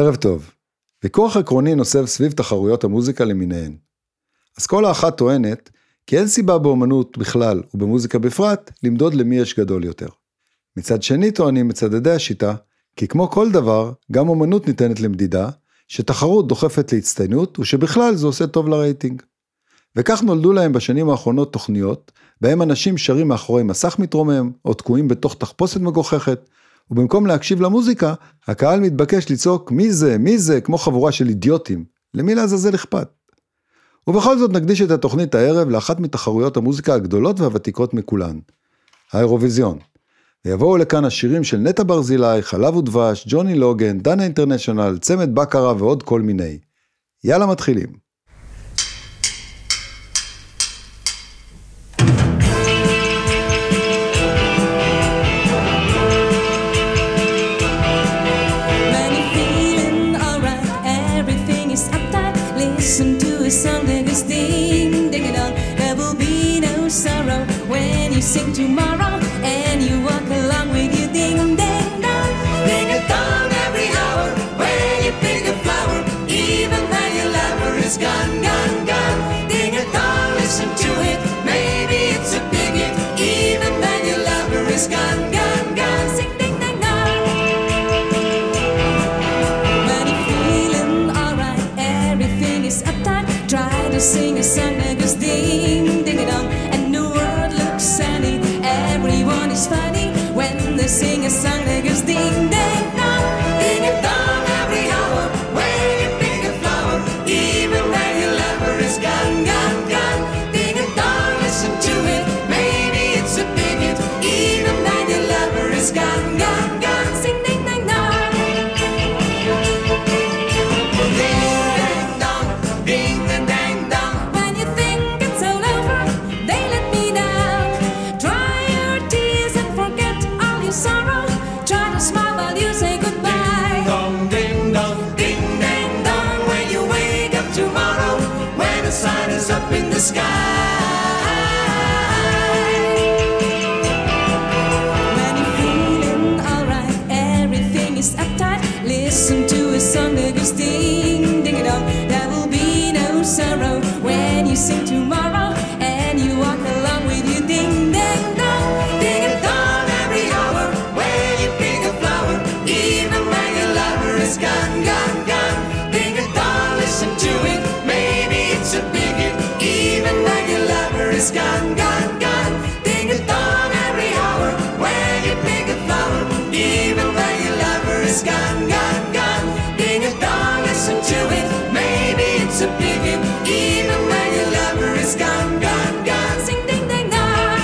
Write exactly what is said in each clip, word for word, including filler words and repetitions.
ערב טוב. ויכוח עקרוני נוסף סביב תחרויות המוזיקה למיניהן. אסכולה אחת טוענת כי אין סיבה באומנות בכלל ובמוזיקה בפרט למדוד למי יש גדול יותר. מצד שני טוענים מצדדי השיטה כי כמו כל דבר גם אומנות ניתנת למדידה, שתחרות דוחפת להצטיינות ושבכלל זה עושה טוב לרייטינג. וכך נולדו להם בשנים האחרונות תוכניות בהם אנשים שרים מאחורי מסך מתרומם או תקועים בתוך תחפושת מגוחכת, ובמקום להקשיב למוזיקה, הקהל מתבקש לצעוק מי זה, מי זה, כמו חבורה של אידיוטים. למי לעזאזל אכפת? ובכל זאת נקדיש את התוכנית הערב לאחת מתחרויות המוזיקה הגדולות והוותיקות מכולן, האירוויזיון. ויבואו לכאן השירים של נטע ברזילי, חלב ודבש, ג'וני לוגן, דנה אינטרנשיונל, צמד בקרה ועוד כל מיני. יאללה מתחילים. Listen to a song that goes ding, ding it on. There will be no sorrow when you sing tomorrow, and you walk along with your ding, ding, dong. Ding a dong every hour when you pick a flower, even when your lover is gone, gone, gone. Ding a dong, listen to it, maybe it's a big hit, even when your lover is gone, gone, gone. Sing ding, ding, dong. When you're feeling alright, everything is uptight. Try to sing a song that goes ding, ding it on, and the world looks sunny. Everyone is funny when they sing a song that goes ding, ding, dong. Ding a dong every hour when you pick a flower, even when your lover is gone, gone, gone. Ding a dong, listen to it, maybe it's a big hit, even when your lover is gone, gone, gone. Sing ding, ding, dong. Ding, ding, ding, dong. When you think it's all over, they let me down. Dry your tears and forget all your sorrow. Try to smile while you say goodbye. Ding dong, ding dong, Ding, ding, dong. When you wake up tomorrow, when the sun is up in the sky. When you're feeling alright, everything is uptight. Listen to a song that goes ding, ding it on. There will be no sorrow when you sing tomorrow, and you walk along with your ding, ding, dong. Ding a dong every hour when you pick a flower, even when your lover is gone, gone, gone. Ding a dong, listen to it, maybe it's a big hit, even when your lover is gone, gone, gone. Ding a dong every hour when you pick a flower, even when your lover is gone, gone, gone. Ding a dong, listen to it, maybe it's a big hit, even when your lover is gone, gone, gone. Sing ding ding dong.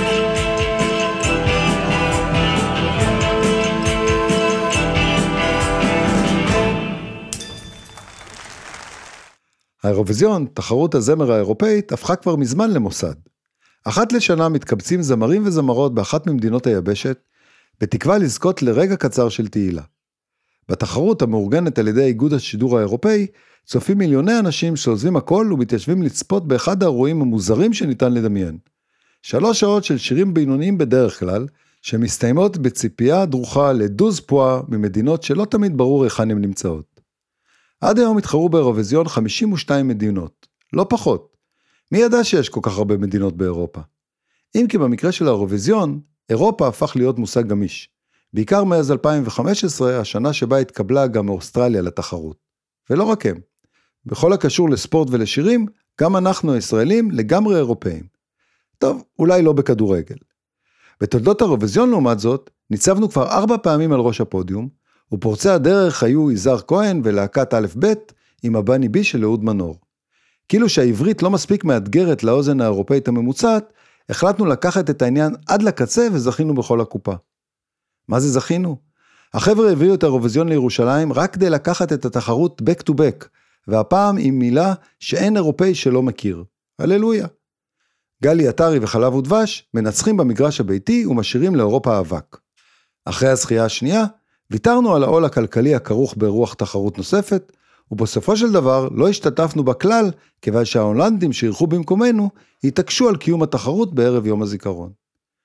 האירוויזיון, תחרות הזמר האירופאית, הפכה כבר מזמן למוסד. אחת לשנה מתקבצים זמרים וזמרות באחת ממדינות היבשת, בתקווה לזכות לרגע קצר של תהילה. בתחרות המאורגנת על ידי איגוד השידור האירופאי, צופים מיליוני אנשים שעוזבים הכל ומתיישבים לצפות באחד האירועים המוזרים שניתן לדמיין. שלוש שעות של שירים בינוניים בדרך כלל, שמסתיימות בציפייה דרוכה לדוז פואה ממדינות שלא תמיד ברור היכן הן נמצאות. עד היום התחרו באירוויזיון חמישים ושתיים מדינות, לא פחות. מי ידע שיש כל כך הרבה מדינות באירופה? אם כי במקרה של האירוויזיון, אירופה הפך להיות מושג גמיש. בעיקר מאז אלפיים וחמש עשרה, השנה שבה התקבלה גם מאוסטרליה לתחרות. ולא רק הם. בכל הקשור לספורט ולשירים, גם אנחנו הישראלים לגמרי אירופאים. טוב, אולי לא בכדורגל. בתולדות האירוויזיון לעומת זאת, ניצבנו כבר ארבע פעמים על ראש הפודיום, ופורצי הדרך היו יזהר כהן ולהקת א' ב' עם הבני בי של אהוד מנור. כאילו שהעברית לא מספיק מאתגרת לאוזן האירופאית הממוצעת, החלטנו לקחת את העניין עד לקצה וזכינו בכל הקופה. מה זה זכינו? החבר'ה הביאו את האירוויזיון לירושלים רק כדי לקחת את התחרות back to back, והפעם עם מילה שאין אירופאי שלא מכיר. הללויה. גלי עטרי וחלב ודבש מנצחים במגרש הביתי ומשאירים לאירופה אבק. אחרי הזכייה השנייה, ויתרנו על העול הכלכלי הכרוך ברוח תחרות נוספת, ובסופו של דבר לא השתתפנו בכלל, כיוון שההולנדים שאירחו במקומנו, התעקשו על קיום התחרות בערב יום הזיכרון.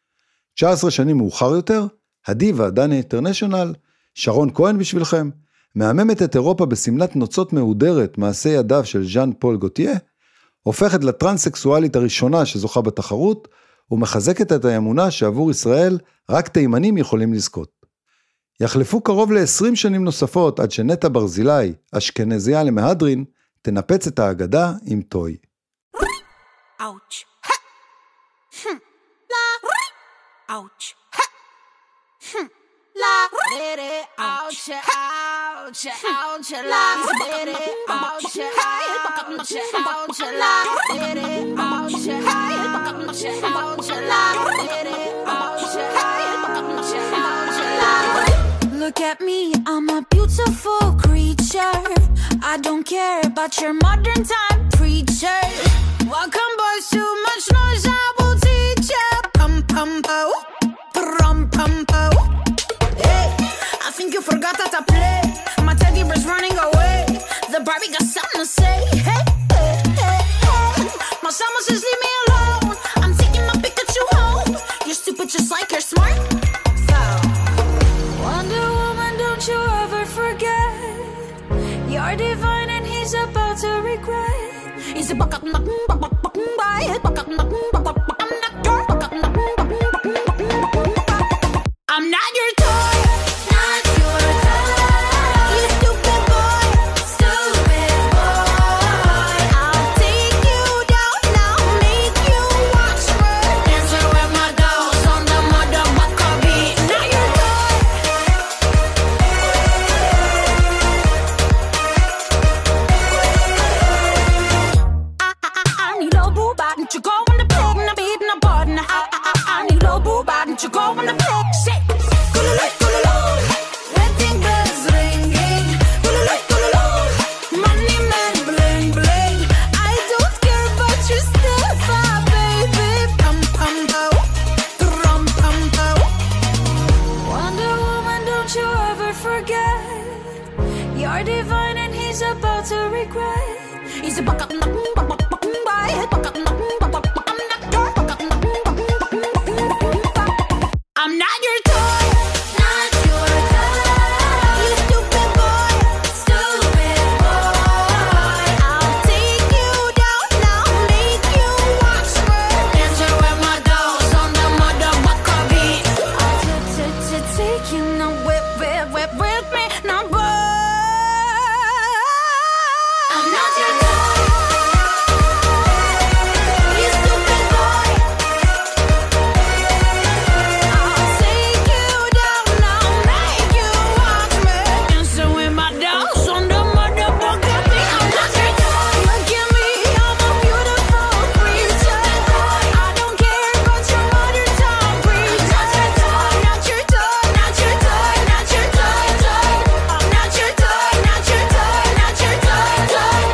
תשע עשרה שנים מאוחר יותר, הדיבה, דנה אינטרנשיונל, שרון כהן בשבילכם, מהממת את אירופה בסמלת נוצות מהודרת מעשה ידיו של ז'אן פול גוטייה, הופכת לטרנסקסואלית הראשונה שזוכה בתחרות, ומחזקת את האמונה שעבור ישראל רק תימנים יכולים לזכות. יחלפו קרוב ל-עשרים שנים נוספות עד שנטע ברזילי, אשכנזיה למהדרין, תנפץ את האגדה עם טוי. Ouch. Ha. Hm. La. Ouch. Ha. Hm. La. Re. Ouch. Ouch. Ouch. La. Re. Ouch. Ouch. Ouch. La. Re. Ouch. Ouch. Ouch. La. Re. Ouch. Ouch. La. Look at me, I'm a beautiful creature. I don't care about your modern time preacher. Welcome boys, too much noise, I will teach ya. Pum pum pow, pum pum pow. Hey, I think you forgot how to play. My teddy bear's running away. The Barbie got something to say. Hey, hey, hey, hey. My summer says leave me alone. I'm taking my Pikachu home. You're stupid just like you're smart. Wonder Woman, don't you ever forget. You're divine and he's about to regret. He's a buck up, buck up, buck up, buck up, buck up. I'm not your toy, not your toy. You stupid boy, stupid boy. I'll take you down now, make you watch me. Dancing with my dolls on the motherfucker beat. Not your toy. I, I, I, I need a boo bot, don't you go on the pig, na beat, na bod, na I, I, I, I need a boo bot, don't you go on the pig, shit. You're divine and he's about to regret. He's a buck up, buck up, buck up, buck up, buck up. I'm not your toy, not your toy. You stupid boy, stupid boy. I'll take you down now, make you watch me. Dancing with my dolls on the motherfucker beat. I'll take you now, whip, whip, whip with me now, boy. I'm not your toy. You stupid boy. I'll take you down now, make you watch me. Dancing with my dolls on the motherfucker beat. I'm not your toy. Look at me, I'm a beautiful creature. I don't care about your modern time preacher. Not your toy, not your toy, not your toy, toy. I'm not your toy, not your toy, not your toy, toy.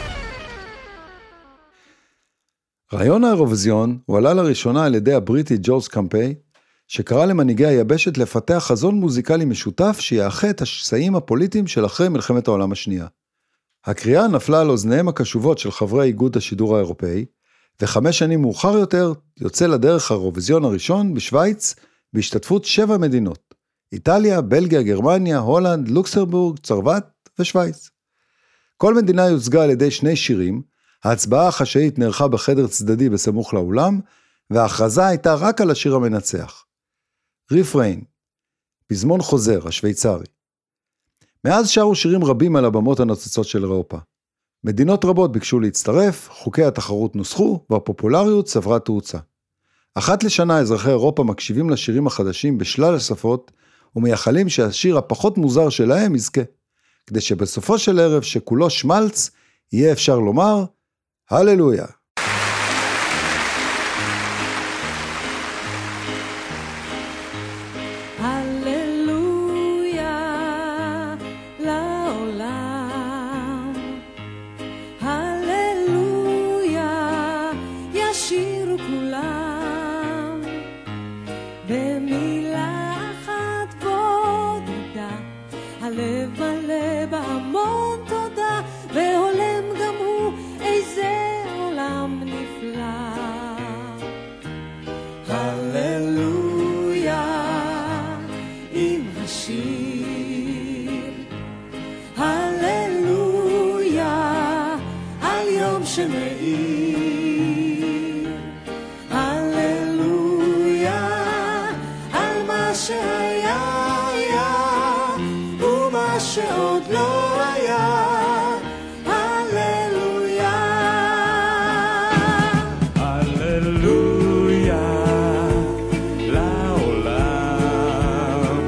רעיון האירוויזיון הועלה לראשונה על ידי הבריטי ג'ורג' קמפיי, שקרא למנהיגי היבשת לפתח חזון מוזיקלי משותף שיאחה את השסעים הפוליטיים של אחרי מלחמת העולם השנייה. הקריאה נפלה על אוזניהם הקשובות של חברי איגוד השידור האירופאי, וחמש שנים מאוחר יותר יוצא לדרך האירוויזיון הראשון בשוויץ, בהשתתפות שבע מדינות, איטליה, בלגיה, גרמניה, הולנד, לוקסמבורג, צרפת ושוויץ. כל מדינה יוצגה על ידי שני שירים, ההצבעה החשאית נערכה בחדר צדדי בסמוך לאולם, וההכרזה הייתה רק על השיר המנצח. ריפריין, פזמון חוזר, השוויצרי. מאז שרו שירים רבים על הבמות הנוצצות של אירופה. מדינות רבות ביקשו להצטרף, חוקי התחרות נוסחו, והפופולריות צברה תאוצה. אחת לשנה אזרחי אירופה מקשיבים לשירים החדשים בשלל השפות, ומייחלים שהשיר הפחות מוזר שלהם יזכה, כדי שבסופו של ערב שכולו שמלץ, יהיה אפשר לומר, הללויה. הללויה לעולם, הללויה ישירו כולם, במילה אחת בודדה, הלב מלא בהמון תודה, והולם גם הוא איזה עולם שמאיר, הללויה, על מה שהיה היה, ומה שעוד לא היה, הללויה. הללויה לעולם,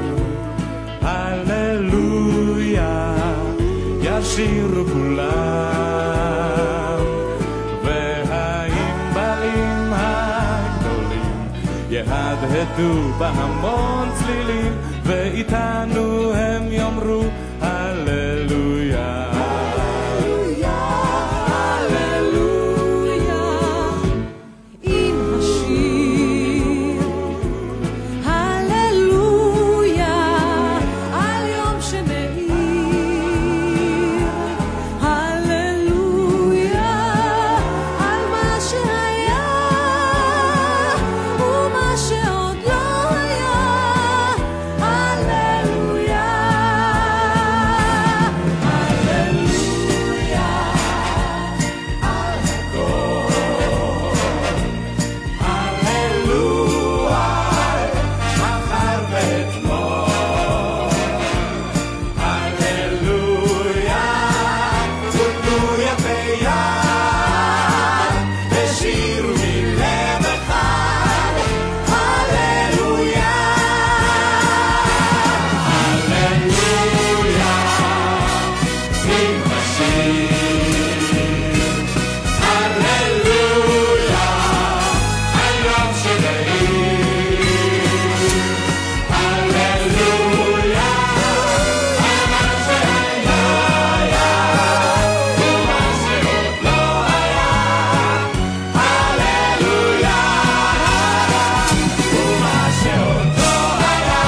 הללויה ישירו כולם, יהדהדו בהמון צלילים, ואיתנו הם יאמרו הללויה. הללויה, הללויה, עם השיר הללויה, על יום שמאיר, הללויה, על מה שהיה ומה שעוד לא היה, הללויה, הללויה, על הכל, הללויה, מחר ואתמול, הללויה, תודו יפה יד, ושירו מלב אחד, הללויה, הללויה, עם השיר, הללויה, היום שמאיר, הללויה, על מה שהיה היה, ומה שעוד לא היה, הללויה, ומה שעוד לא היה,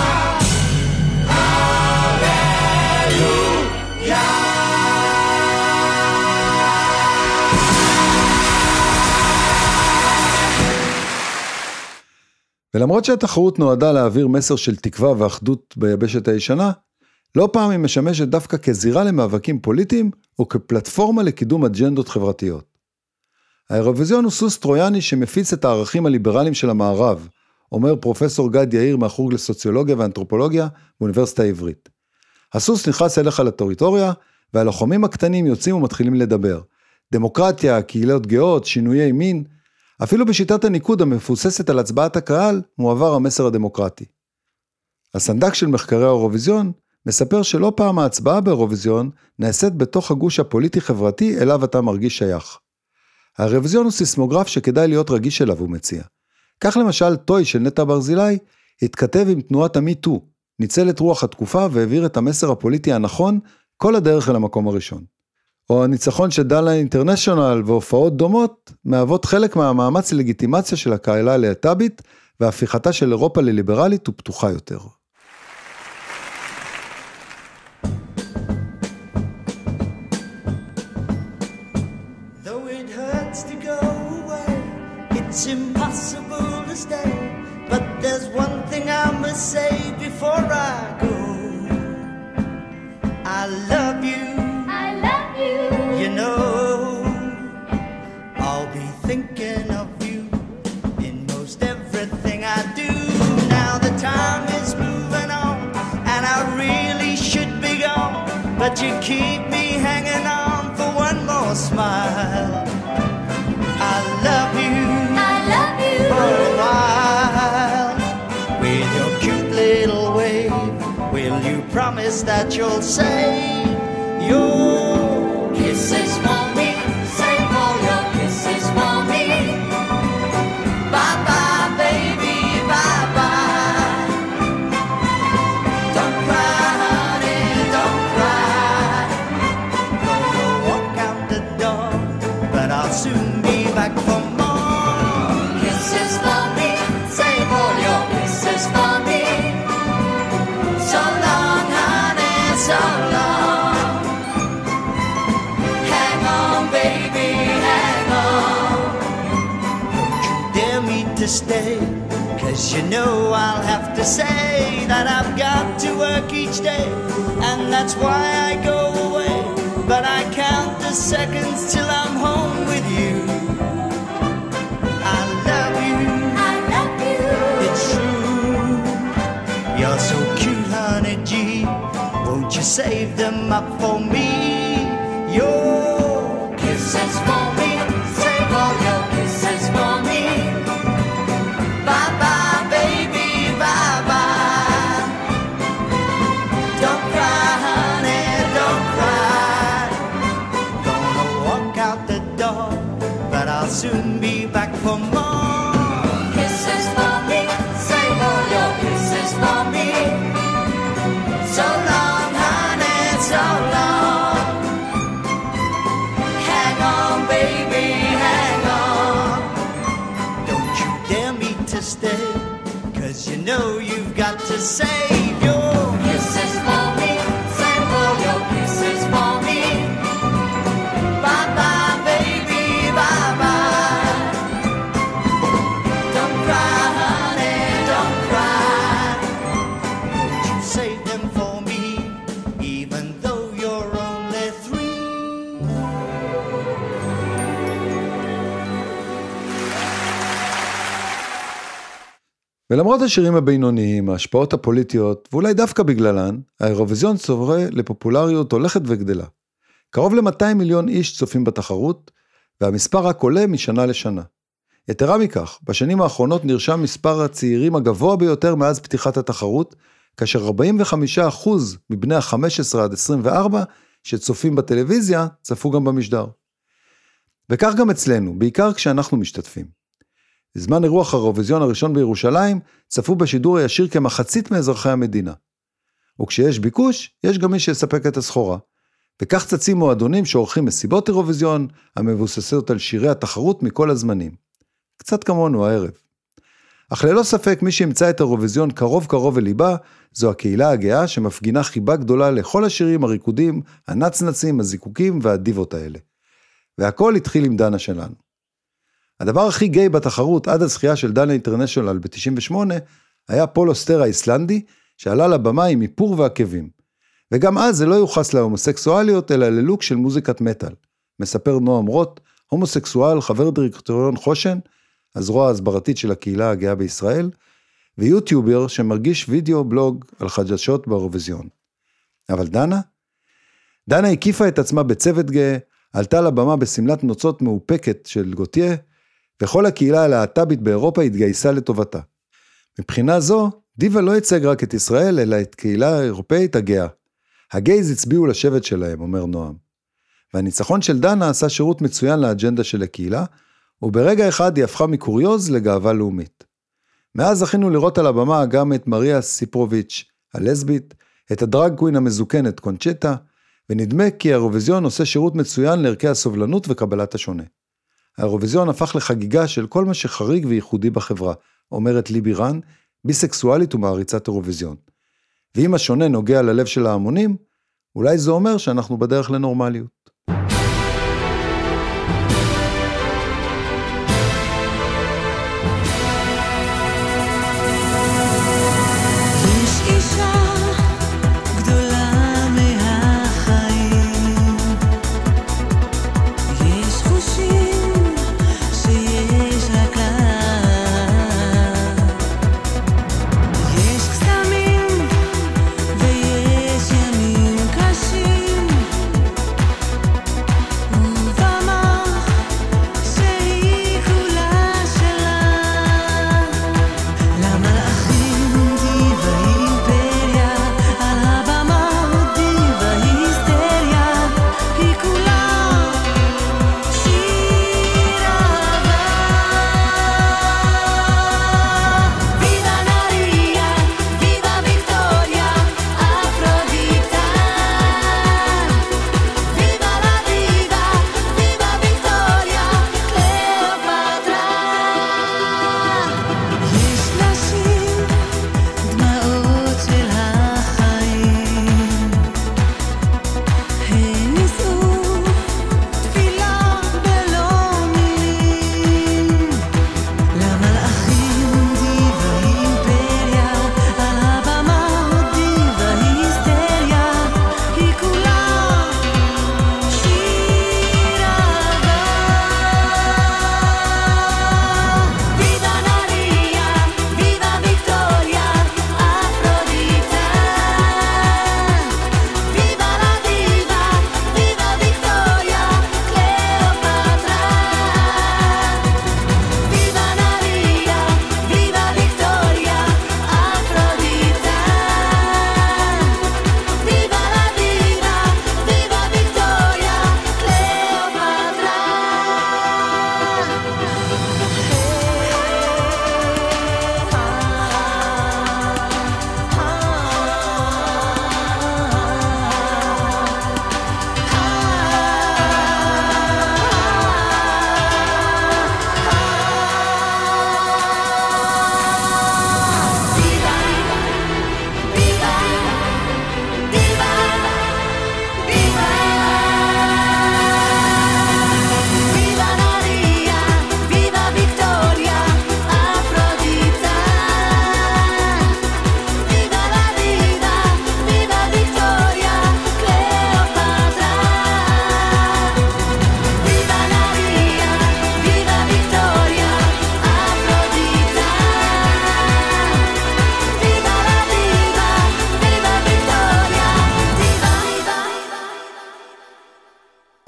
ולמרות שהתחרות נועדה להעביר מסר של תקווה ואחדות ביבשת הישנה, לא פעם היא משמשת דווקא כזירה למאבקים פוליטיים, או כפלטפורמה לקידום אג'נדות חברתיות. האירוויזיון הוא סוס טרויאני שמפיץ את הערכים הליברליים של המערב, אומר פרופסור גד יאיר מהחוג לסוציולוגיה ואנתרופולוגיה באוניברסיטה העברית. הסוס נכנס אליך לטריטוריה, והלוחמים הקטנים יוצאים ומתחילים לדבר. דמוקרטיה, קהילות גאות, שינויי מין, אפילו בשיטת הניקוד המפוססת על הצבעת הקהל, מועבר המסר הדמוקרטי. הסנדק של מחקרי האירוויזיון מספר שלא פעם ההצבעה באירוויזיון נעשית בתוך הגוש הפוליטי-חברתי אליו אתה מרגיש שייך. האירוויזיון הוא סיסמוגרף שכדאי להיות רגיש אליו, הוא מציע. כך למשל טוי של נטע ברזילי התכתב עם תנועת המיטו, ניצל את רוח התקופה והעביר את המסר הפוליטי הנכון כל הדרך אל המקום הראשון. או הניצחון של דלה אינטרנשיונל והופעות דומות מהוות חלק מהמאמץ ללגיטימציה של הקהילה הלהט"בית והפיכתה של אירופה לליברלית ופתוחה יותר. Though it hurts to go away, it's impossible to stay. But there's one thing I must say before I go. I love you. I love you. You know, I'll be thinking of you in most everything I do. Now the time is moving on, and I really should be gone, but you keep me hanging on for one more smile. I love you. I love you. For a while, with your cute little wave, will you promise that you'll say your kisses for me? Save all your kisses for me. Bye bye, baby, bye bye. Don't cry, honey, don't cry. Gonna walk out the door, but I'll soon be back for more kisses for me. Save all your kisses for me. So long, honey, so long. Hang on, baby, hang on. Don't you dare me to stay, 'cause you know I'll have to say that I've got to work each day, and that's why I go away. But I can't the seconds till I'm home with you. I love you, I love you. it's true. You're so cute, honey G. Won't you save them up for me? Your kisses for me. Save all your kisses for me. Bye bye, baby, bye bye. Don't cry, honey, don't cry. Gonna walk out the door, but I'll soon be back for more. Kisses for me. Save all your kisses for me. So long, honey, so long. Hang on, baby, hang on. Don't you dare me to stay, 'cause you know you've got to save your kisses for me. Save all your kisses for me. Bye bye, baby, bye bye. Don't cry, honey, don't cry. Won't you save them for me, even though you're only three? ולמרות השירים הבינוניים, ההשפעות הפוליטיות, ואולי דווקא בגללן, האירוויזיון צובר לפופולריות הולכת וגדלה. קרוב ל-מאתיים מיליון איש צופים בתחרות, והמספר רק עולה משנה לשנה. יתרה מכך, בשנים האחרונות נרשם מספר הצעירים הגבוה ביותר מאז פתיחת התחרות, כאשר ארבעים וחמישה אחוז מבני ה-חמש עשרה עד עשרים וארבע שצופים בטלוויזיה, צפו גם במשדר. וכך גם אצלנו, בעיקר כשאנחנו משתתפים. בזמן אירוח האירוויזיון הראשון בירושלים, צפו בשידור הישיר כמחצית מאזרחי המדינה. וכשיש ביקוש, יש גם מי שיספק את הסחורה. וכך צצים מועדונים שעורכים מסיבות אירוויזיון, המבוססות על שירי התחרות מכל הזמנים. קצת כמונו הערב. אך ללא ספק מי שימצא את האירוויזיון קרוב קרוב אליבה, זו הקהילה הגאה שמפגינה חיבה גדולה לכל השירים הריקודים, הנצנצים, הזיקוקים והדיבות האלה. והכל התחיל עם דנה שלנו. הדבר הכי גיי בתחרות עד הזכייה של דנה אינטרנשיונל ב-תשעים ושמונה, היה פול אוסטר האיסלנדי, שעלה לבמה עם איפור ועקבים. וגם אז זה לא יוחס להומוסקסואליות, אלא ללוק של מוזיקת מטל. מספר נועם רוט, הומוסקסואל, חבר דירקטוריון חושן, הזרוע ההסברתית של הקהילה הגאה בישראל, ויוטיובר שמרגיש וידאו בלוג על חדשות באירוויזיון. אבל דנה? דנה הקיפה את עצמה בצוות גאה, עלתה לבמה בסמלת נוצות מאופקת של גוטיה, וכל הקהילה הלהט"בית באירופה התגייסה לטובתה. מבחינה זו, דיבה לא ייצג רק את ישראל, אלא את קהילה האירופאית הגאה. הגייז הצביעו לשבט שלהם, אומר נועם. והניצחון של דנה עשה שירות מצוין לאג'נדה של הקהילה, וברגע אחד היא הפכה מקוריוז לגאווה לאומית. מאז זכינו לראות על הבמה גם את מריה סיפרוביץ' הלסבית, את הדרג קווין המזוקנת קונצ'טה, ונדמה כי האירוויזיון עושה שירות מצוין לערכי הסובלנות וקבלת השונה. האירוויזיון הפך לחגיגה של כל מה שחריג וייחודי בחברה, אומרת ליבי רן, ביסקסואלית ומעריצת אירוויזיון. ואם השונה נוגע ללב של ההמונים, אולי זה אומר שאנחנו בדרך לנורמליות. ויש ימים קשים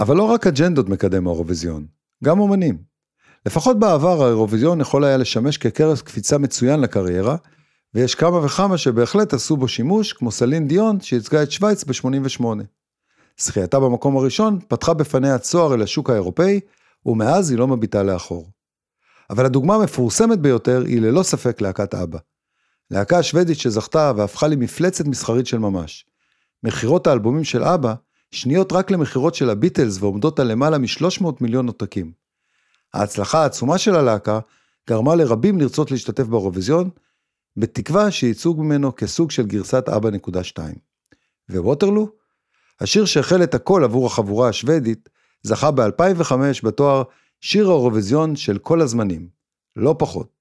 אבל לא רק אג'נדות מקדם האירוויזיון, גם אומנים. לפחות בעבר האירוויזיון יכול היה לשמש כקרס קפיצה מצוין לקריירה, ויש כמה וכמה שבהחלט עשו בו שימוש, כמו סלין דיון שייצגה את שוויץ ב-שמונים ושמונה. זכייתה במקום הראשון פתחה בפניה צוהר אל השוק האירופאי, ומאז היא לא מביטה לאחור. אבל הדוגמה המפורסמת ביותר היא ללא ספק להקת אבא. להקה השוודית שזכתה והפכה למפלצת מסחרית של ממש. מחירות האלבומים של אבא, שניות רק למחירות של הביטלס ועומדות על למעלה מ-שלוש מאות מיליון עותקים. ההצלחה העצומה של הלהקה גרמה לרבים לרצות להשתתף באירוויזיון, בתקווה שייצוג ממנו כסוג של גרסת אבא נקודה שתיים. וווטרלו? השיר שהחל את הכל עבור החבורה השוודית, זכה ב-אלפיים וחמש בתואר שיר האירוויזיון של כל הזמנים, לא פחות.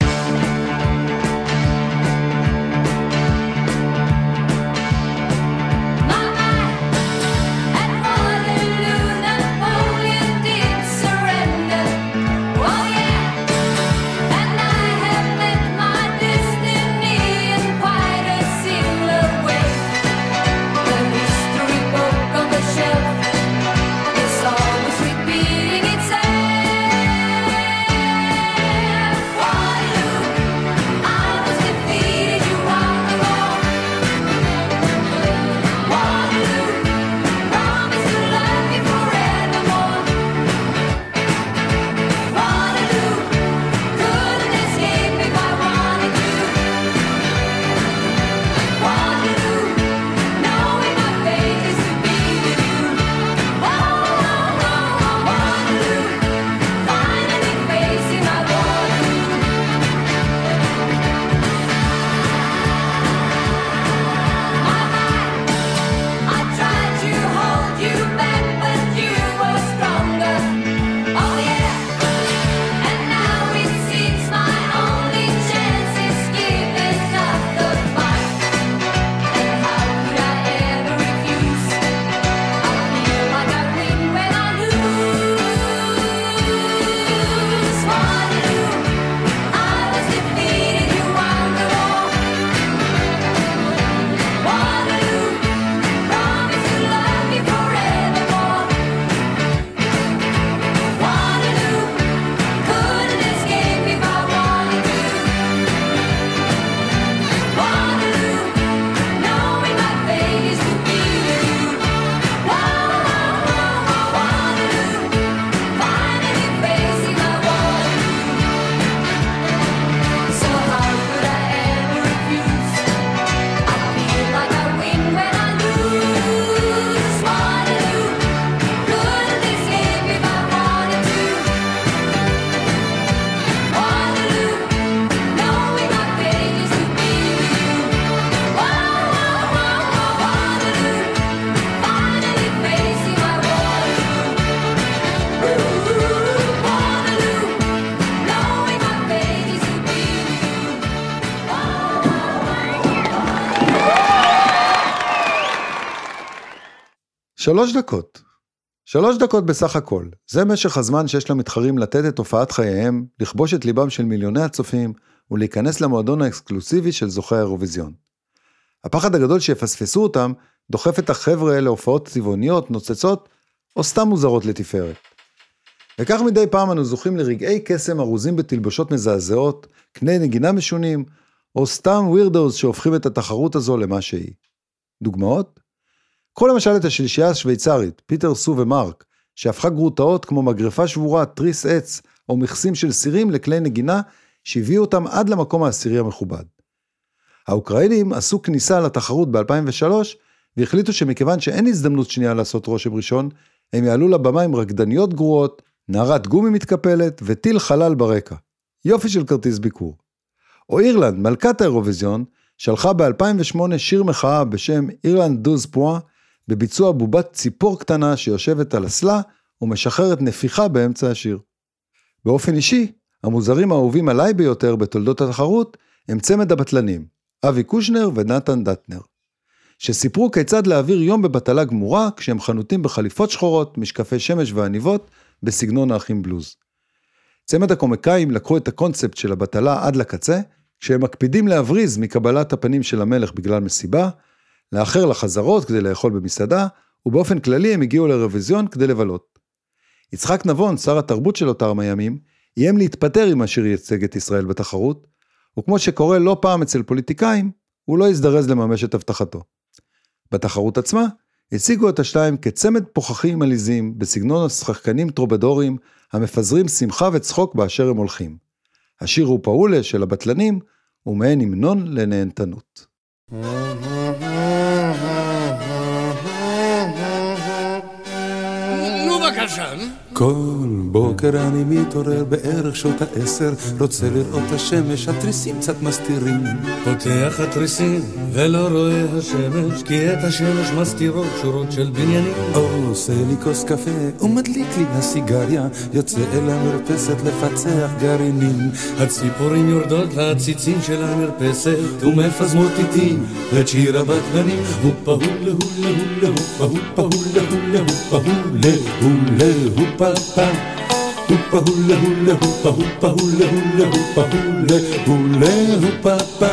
שלוש דקות. שלוש דקות בסך הכל. זה משך הזמן שיש למתחרים לתת את הופעת חייהם, לכבוש את ליבם של מיליוני הצופים, ולהיכנס למועדון האקסקלוסיבי של זוכי האירוויזיון. הפחד הגדול שיפספסו אותם, דוחף את החבר'ה להופעות צבעוניות, נוצצות, או סתם מוזרות לתפארת. וכך מדי פעם אנו זוכים לרגעי קסם ארוזים בתלבושות מזעזעות, קני נגינה משונים, או סתם ווירדוס שהופכים את התחרות הזו למה שהיא. דוגמאות? קחו למשל את השלישייה השוויצרית, פיטר, סו ומרק, שהפכה גרוטאות כמו מגרפה שבורה, תריס עץ, או מכסים של סירים לכלי נגינה, שהביאו אותם עד למקום העשירי המכובד. האוקראינים עשו כניסה לתחרות ב-אלפיים ושלוש, והחליטו שמכיוון שאין הזדמנות שנייה לעשות רושם ראשון, הם יעלו לבמה עם רקדניות גרועות, נערת גומי מתקפלת וטיל חלל ברקע. יופי של כרטיס ביקור. או אירלנד, מלכת האירוויזיון, שלחה ב-אלפיים ושמונה שיר מחאה בשם אירלנד דוז פואה, בביצוע בובת ציפור קטנה שיושבת על הסלה ומשחררת נפיחה באמצע השיר. באופן אישי, המוזרים האהובים עליי ביותר בתולדות התחרות הם צמד הבטלנים, אבי קושנר ונתן דטנר, שסיפרו כיצד להעביר יום בבטלה גמורה כשהם חנותים בחליפות שחורות, משקפי שמש ועניבות בסגנון האחים בלוז. צמד הקומיקאים לקחו את הקונספט של הבטלה עד לקצה, כשהם מקפידים להבריז מקבלת הפנים של המלך בגלל מסיבה, לאחר לחזרות כדי לאכול במסעדה, ובאופן כללי הם הגיעו לאירוויזיון כדי לבלות. יצחק נבון, שר התרבות של אותם הימים, איים להתפטר אם השיר ייצג את ישראל בתחרות, וכמו שקורה לא פעם אצל פוליטיקאים, הוא לא הזדרז לממש את הבטחתו. בתחרות עצמה, הציגו את השתיים כצמד פוחחים עליזים, בסגנון השחקנים טרובדורים, המפזרים שמחה וצחוק באשר הם הולכים. השיר הוא פאולה של הבטלנים, ומעין המנון לנהנתנות. נו בבקשה. כל בוקר אני מתעורר בערך שעות העשר, רוצה לראות השמש, התריסים קצת מסתירים. פותח התריסים ולא רואה השמש, כי את השמש מסתירות שורות של בניינים. עושה לי כוס קפה ומדליק לי הסיגריה, יוצא אל המרפסת לפצח גרעינים. הציפורים יורדות לעציצים של המרפסת ומפזמות איתי את שיר הבטלנים. הופה הולה הולה הולה הופה הופה הולה הולה הופה הולה הולה הופה pa upa hula hula upa upa hula hula upa hula hula upa pa.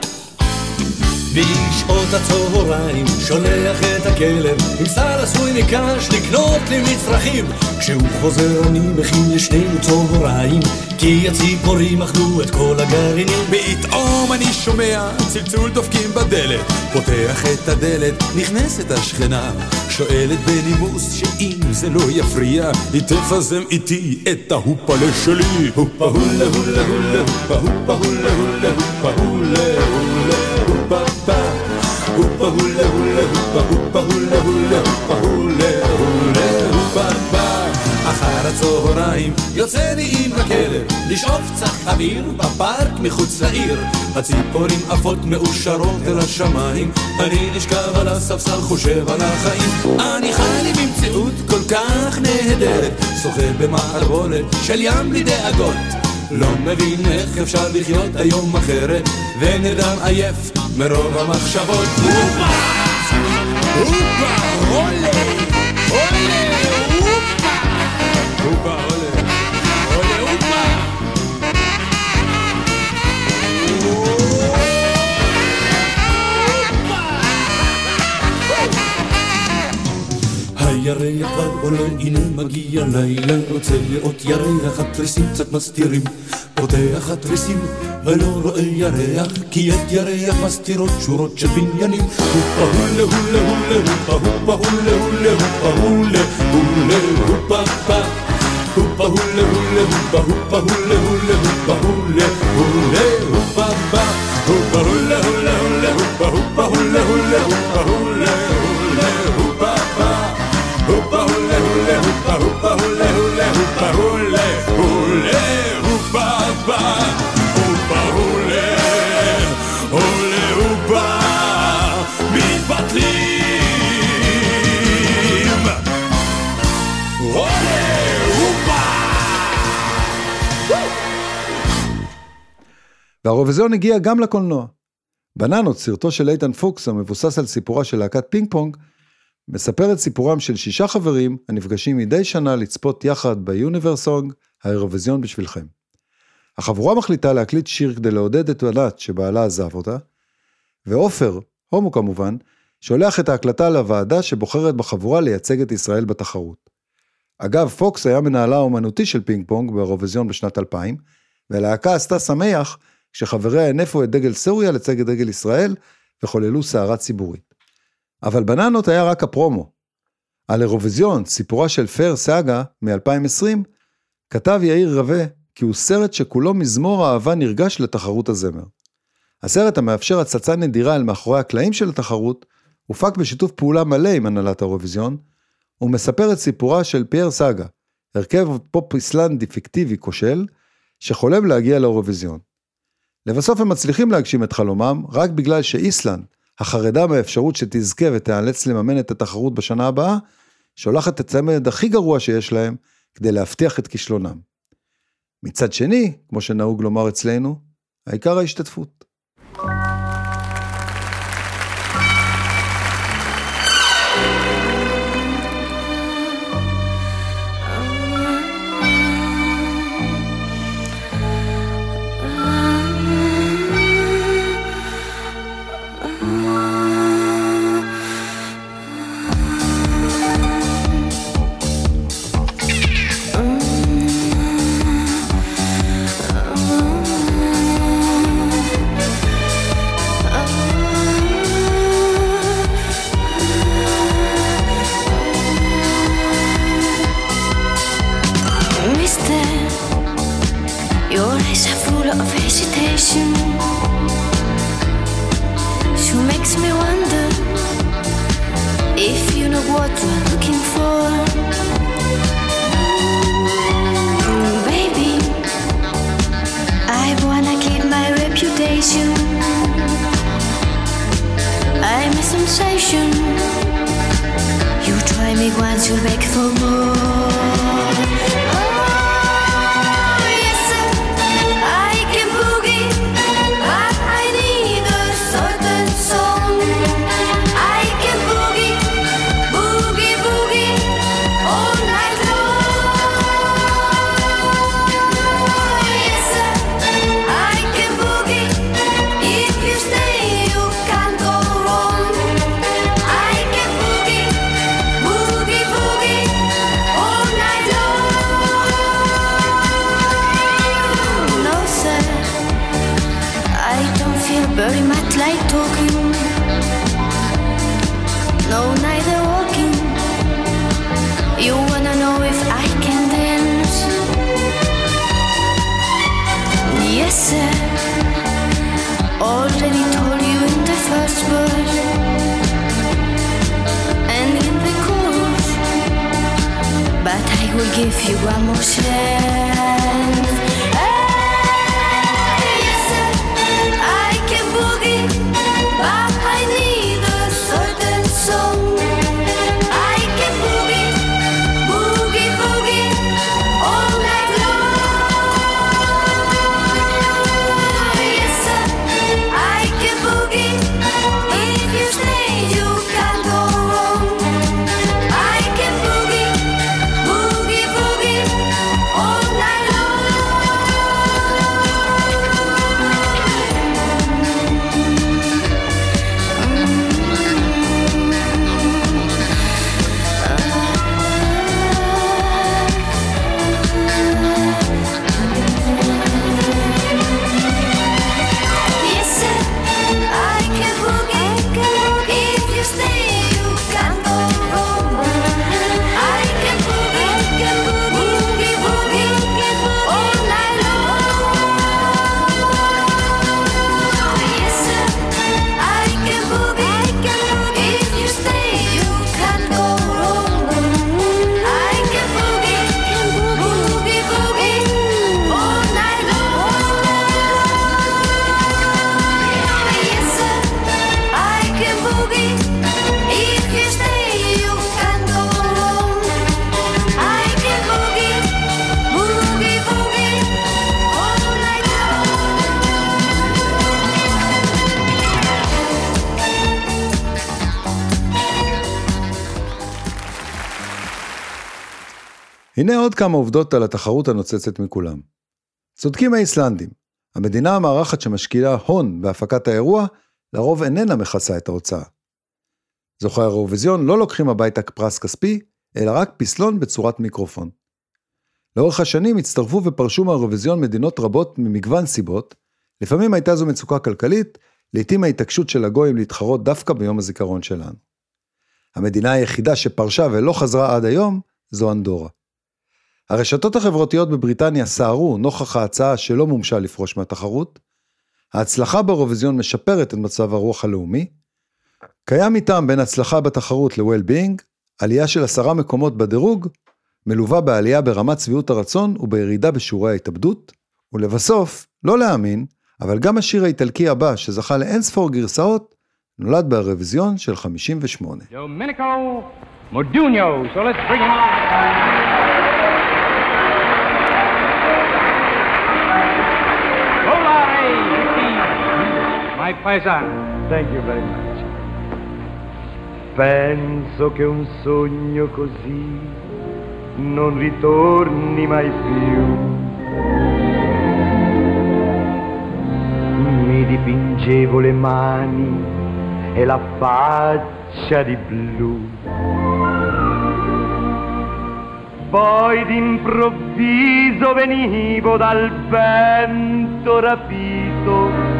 בשעות הצהריים שולח את הכלב עם שר עשוי מקש לקנות לי מצרכים. כשהוא חוזר אני מכין לשנינו צהריים, כי הציפורים אכלו את כל הגרעינים. פתאום אני שומע צלצול דופקים בדלת, פותח את הדלת, נכנסת השכנה, שואלת בנימוס שאם זה לא יפריע היא תפזם איתי את ההופלה שלי. הופה הולה הולה הולה הופה הופה הולה הולה הופה הולה הולה הופה pa upa hula hula upa upa hula hula upa hula hula upa pa. אחר הצהריים יוצא לי עם הכלב לשאוף קצת אוויר בפארק מחוץ לעיר. הציפורים עפות מאושרות אל השמיים, אני נשכב על הספסל חושב על החיים. אני חי לי במציאות כל כך נהדרת, שוחה במערבולת של ים בלי דאגות. לא מבין איך אפשר לחיות היום אחרת, ונרדם עייף מרוב המחשבות. הופה! הופה! עולה! עולה! הופה! הופה! עולה! עולה! הופה! הירח כבר עולה, הנה מגיע לילה, רוצה לראות ירח, התריסים קצת מסתירים. פותח התריסים ולא רואה ירח, כי את ירח מסתירות שורות של בניינים. הופה הולה הולה הולה הופה הופה הולה הולה הופה הולה הולה הופה pa. הופה הולה הולה הופה הופה הולה הולה הופה הולה הולה הופה pa. הופה הולה הולה הולה הופה הופה הולה הולה הופה הולה הולה הופה pa. הופה הולה הולה הופה הופה הולה הולה הופה הולה הולה הופה pa. הופה הולה הולה הופה מתבטלים. הולה הופה. והאירוויזיון הגיע גם לקולנוע. בננות, סרטו של איתן פוקס המבוסס על סיפורה של להקת פינג פונג, מספר את סיפורם של שישה חברים הנפגשים מדי שנה לצפות יחד ביוניברסונג, האירוויזיון בשבילכם. החבורה מחליטה להקליט שיר כדי לעודד את בנת שבעלה עזב אותה, ואופר, הומו כמובן, שולח את ההקלטה לוועדה שבוחרת בחבורה לייצג את ישראל בתחרות. אגב, פוקס היה מנהלה האומנותי של פינג פונג באירוויזיון בשנת אלפיים, והלהקה עשתה שמח כשחבריה הנפו את דגל סוריה לצג את דגל ישראל וחוללו סערה ציבורית. אבל בננות היה רק הפרומו. על אירוויזיון, סיפורה של פר סאגה מ-אלפיים ועשרים, כתב יאיר רווה כי הוא סרט שכולו מזמור אהבה נרגש לתחרות הזמר. הסרט המאפשר הצצה נדירה אל מאחורי הקלעים של התחרות, הופק בשיתוף פעולה מלא עם הנהלת האירוויזיון, ומספר את סיפורה של פייר סאגה, הרכב פופ איסלנדי פיקטיבי כושל, שחולם להגיע לאירוויזיון. לבסוף הם מצליחים להגשים את חלומם, רק בגלל שאיסלנד, החרדה מהאפשרות שתזכה ותאלץ לממן את התחרות בשנה הבאה, שולחת את הצמד הכי גרוע שיש להם, כדי להבטיח את כישלונם. מצד שני, כמו שנהוג לומר אצלנו, העיקר ההשתתפות. sister, your eyes are full of hesitation. She makes me wonder if you know what you're looking for. Mm, baby, I wanna keep my reputation. I'm a sensation. You try me once, you'll beg for more. Oh, yes sir, I can boogie, but I need a certain song. I can boogie, boogie, boogie, all night long. Yes sir, I can boogie, if you stay you can't go wrong. I can boogie, boogie, boogie, all night long. No sir, I don't feel very much like talking. No, neither walking. You wanna know if I can dance? Yes sir, already told you in the first verse and in the chorus, but I will give you one more chance. Hey, yes sir, I can boogie, but I need a certain song. I can boogie, boogie, boogie, all night long. Yes sir, I can boogie, if you stay you can't go wrong. I can boogie, boogie, boogie, all night long. Yes sir, I can boogie, if you stay you can't go wrong. I can boogie, boogie, boogie, all night long. Yes sir, I can boogie, if you stay you can't go wrong. I can boogie, boogie, boogie, all night long. Yes sir, I can boogie, if you stay you can't go wrong. I can boogie, boogie, boogie, all night הנה עוד כמה עובדות על התחרות הנוצצת מכולם. צודקים האיסלנדים. המדינה המארחת שמשקיעה הון בהפקת האירוע, לרוב איננה מכסה את ההוצאה. זוכי האירוויזיון לא לוקחים הביתה פרס כספי, אלא רק פסלון בצורת מיקרופון. לאורך השנים הצטרפו ופרשו מהאירוויזיון מדינות רבות ממגוון סיבות, לפעמים הייתה זו מצוקה כלכלית, לעתים ההתעקשות של הגויים להתחרות דווקא ביום הזיכרון שלנו. המדינה היחידה שפרשה ולא חזרה עד היום, זו אנדורה. הרשתות החברתיות בבריטניה סערו נוכח ההצעה שלא מומשה לפרוש מהתחרות. ההצלחה באירוויזיון משפרת את מצב הרוח הלאומי. קיים איתם בין הצלחה בתחרות ל-well-being, עלייה של עשרה מקומות בדירוג, מלווה בעלייה ברמת צביעות הרצון ובירידה בשיעורי ההתאבדות, ולבסוף, לא להאמין, אבל גם השיר האיטלקי הבא שזכה לאין ספור גרסאות, נולד באירוויזיון של חמישים ושמונה. Domenico Modugno, so let's bring him on. My paesano. Thank you very much. Penso che un sogno così non ritorni mai più. Mi dipingevo le mani e la faccia di blu. Poi d'improvviso venivo dal vento rapito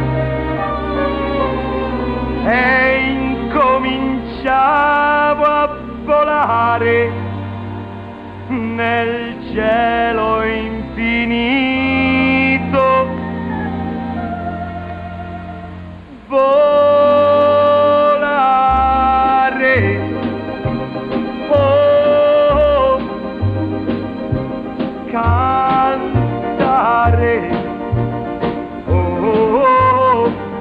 e incominciavo a volare nel cielo infinito. Volare, oh, cantare, oh,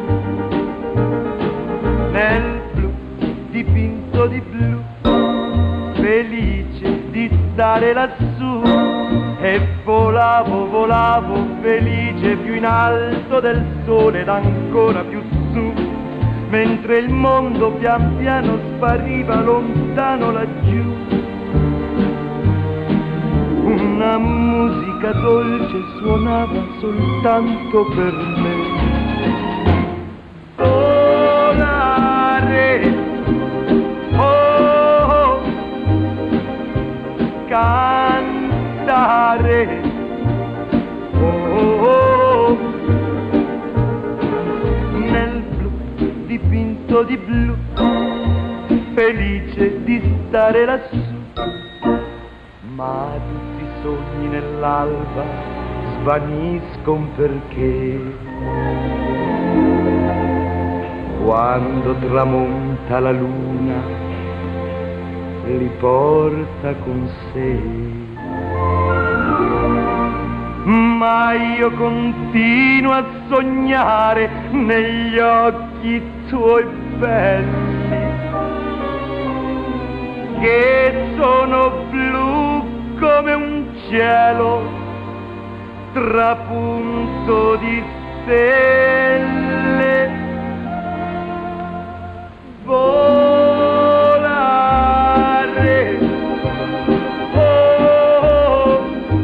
nel blu dipinto di blu, felice di stare lassù, e volavo, volavo felice più in alto del sole ed ancora più su, mentre il mondo pian piano spariva lontano laggiù. Una musica dolce suonava soltanto per me. Volare, oh, cantare, oh, nel blu dipinto di blu, felice di stare lassù. Ma tutti i sogni nell'alba svaniscono perché quando tramonta la luna li porta con sé. Ma io continuo a sognare negli occhi tuoi belli, che sono blu come un cielo trapunto di stelle. Volare, oh,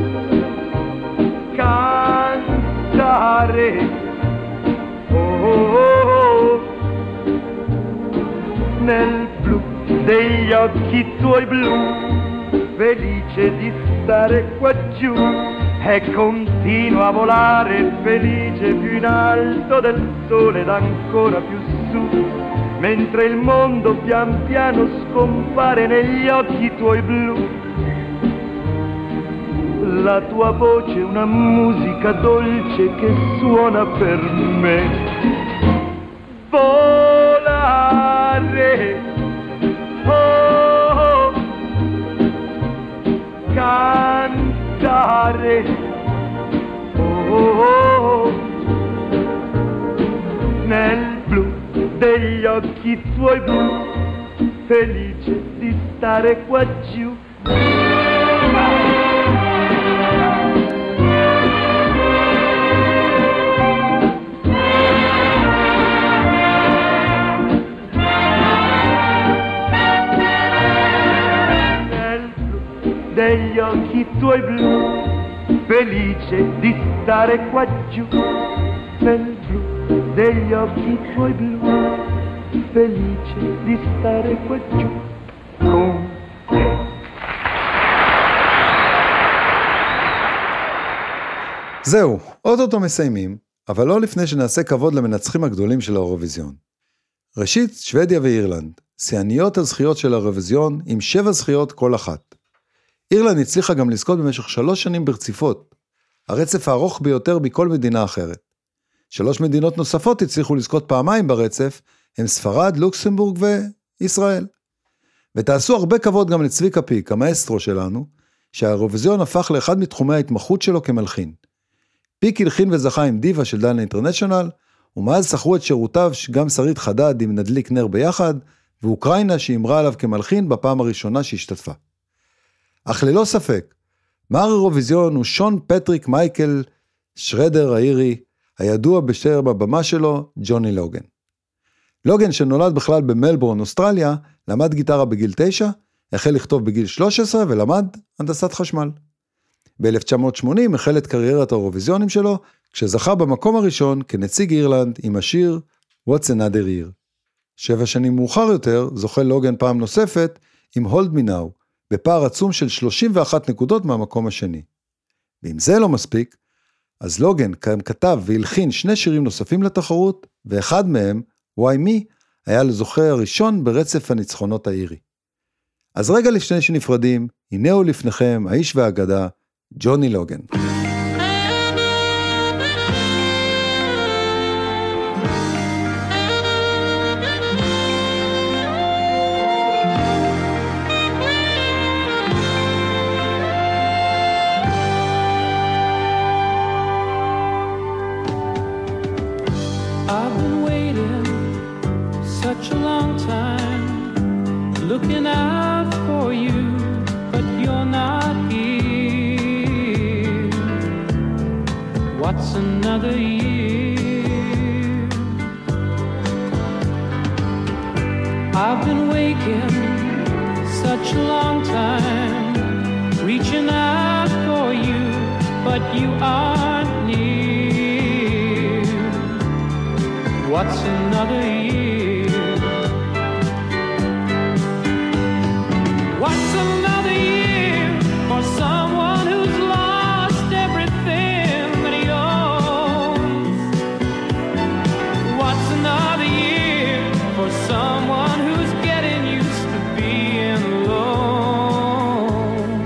cantare, oh, nel blu degli occhi tuoi blu, felice di stare qua giù, e continuo a volare felice più in alto del sole ed ancora più su, mentre il mondo pian piano scompare negli occhi tuoi blu. La tua voce è una musica dolce che suona per me. Volare, oh, cantare, oh, nel blu degli occhi tuoi blu, felice di stare qua giù. Nel blu degli occhi tuoi blu, felice di stare qua giù. Nel blu degli occhi tuoi blu, felice di stare qua giù con te. זהו, אוטוטו מסיימים, אבל לא לפני שנעשה כבוד למנצחים הגדולים של האירוויזיון. ראשית, שוודיה ואירלנד, שיאניות הזכיות של האירוויזיון עם שבע זכיות כל אחת. אירלנד הצליחה גם לזכות במשך שלוש שנים ברציפות, הרצף הארוך ביותר בכל מדינה אחרת. שלוש מדינות נוספות הצליחו לזכות פעמיים ברצף, הם ספרד, לוקסמבורג וישראל. ותעשו הרבה כבוד גם לצביקה פיק, המאסטרו שלנו, שהאירוויזיון הפך לאחד מתחומי ההתמחות שלו כמלחין. פיק הלחין וזכה עם דיבה של דנה אינטרנשיונל, ומאז שכרו את שירותיו גם שרית חדד עם נדליק נר ביחד, ואוקראינה שאמרה עליו כמלחין בפעם הראשונה שהשתתפה. אך ללא ספק, מר אירוויזיון הוא שון פטריק מייקל שרדר האירי, הידוע בשם הבמה שלו, ג'וני לוגן. לוגן שנולד בכלל במלבורן, אוסטרליה, למד גיטרה בגיל תשע, החל לכתוב בגיל שלוש עשרה ולמד הנדסת חשמל. ב-אלף תשע מאות שמונים החל את קריירת האירוויזיונים שלו, כשזכה במקום הראשון כנציג אירלנד עם השיר What's Another Year. שבע שנים מאוחר יותר זוכה לוגן פעם נוספת עם Hold Me Now, בפער עצום של שלושים ואחת נקודות מהמקום השני. ואם זה לא מספיק, אז לוגן כתב והלחין שני שירים נוספים לתחרות, ואחד מהם, Why Me, היה לזוכה הראשון ברצף הניצחונות האירי. אז רגע לפני שנפרדים, הנה הוא לפניכם, האיש והאגדה, ג'וני לוגן. I've been waiting such a long time, looking out for you, but you're not here. What's another year? I've been waking such a long time, reaching out for you, but you aren't near. What's another year? What's another year for someone who's lost everything that he owns? What's another year for someone who's getting used to being alone?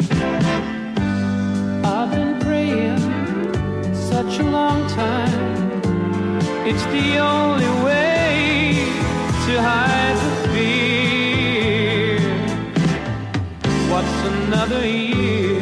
I've been praying such a long time. It's the only way to hide the fear. What's another year?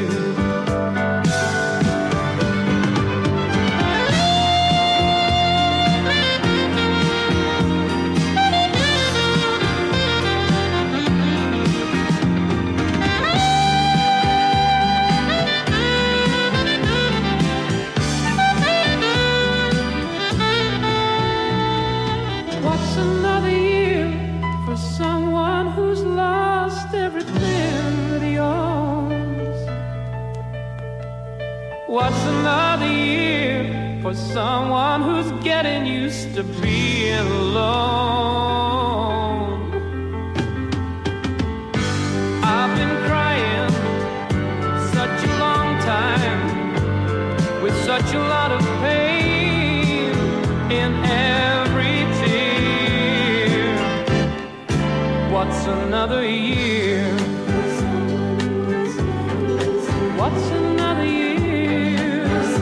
What's another year for someone who's lost everything that he owns? What's another year for someone who's getting used to being alone? I've been crying such a long time, with such a lot of pain in every tear. What's another year? What's another year?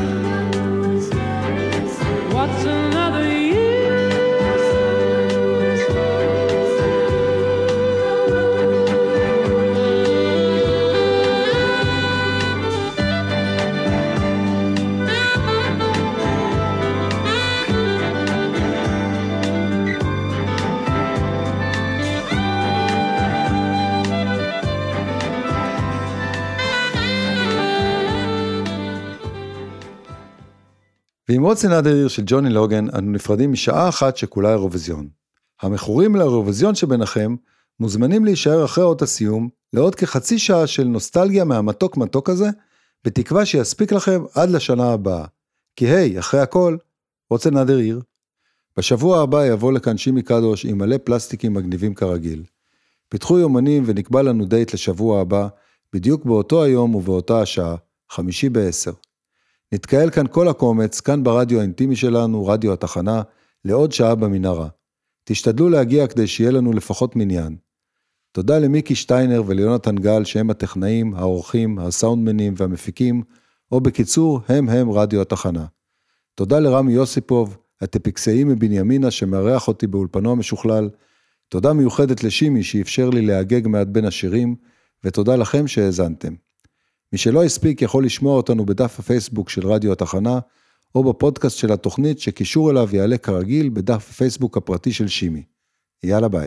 What's another year? ועם What's Another Year של ג'וני לוגן, אנו נפרדים משעה אחת שכולה אירוויזיון. המכורים לאירוויזיון שביניכם, מוזמנים להישאר אחרי אות הסיום, לעוד כחצי שעה של נוסטלגיה מהמתוק מתוק הזה, בתקווה שיספיק לכם עד לשנה הבאה. כי היי, אחרי הכל, What's Another Year? בשבוע הבא יבוא לכאן שימי קדוש עם מלא פלסטיקים מגניבים כרגיל. פיתחו יומנים ונקבע לנו דייט לשבוע הבא, בדיוק באותו היום ובאותה השעה, חמישי בעשר. נתקהל כאן כל הקומץ, כאן ברדיו האינטימי שלנו, רדיו התחנה, לעוד שעה במנהרה. תשתדלו להגיע כדי שיהיה לנו לפחות מניין. תודה למיקי שטיינר וליונתן גל שהם הטכנאים, האורחים, הסאונדמנים והמפיקים, או בקיצור, הם הם רדיו התחנה. תודה לרמי יוסיפוב, הטפיקסאי מבנימינה שמארח אותי באולפנו המשוכלל. תודה מיוחדת לשימי שאפשר לי להגג מעט בין השירים, ותודה לכם שהאזנתם. מי שלא הספיק יכול לשמוע אותנו בדף הפייסבוק של רדיו התחנה, או בפודקאסט של התוכנית שקישור אליו יעלה כרגיל בדף הפייסבוק הפרטי של שימי. יאללה ביי.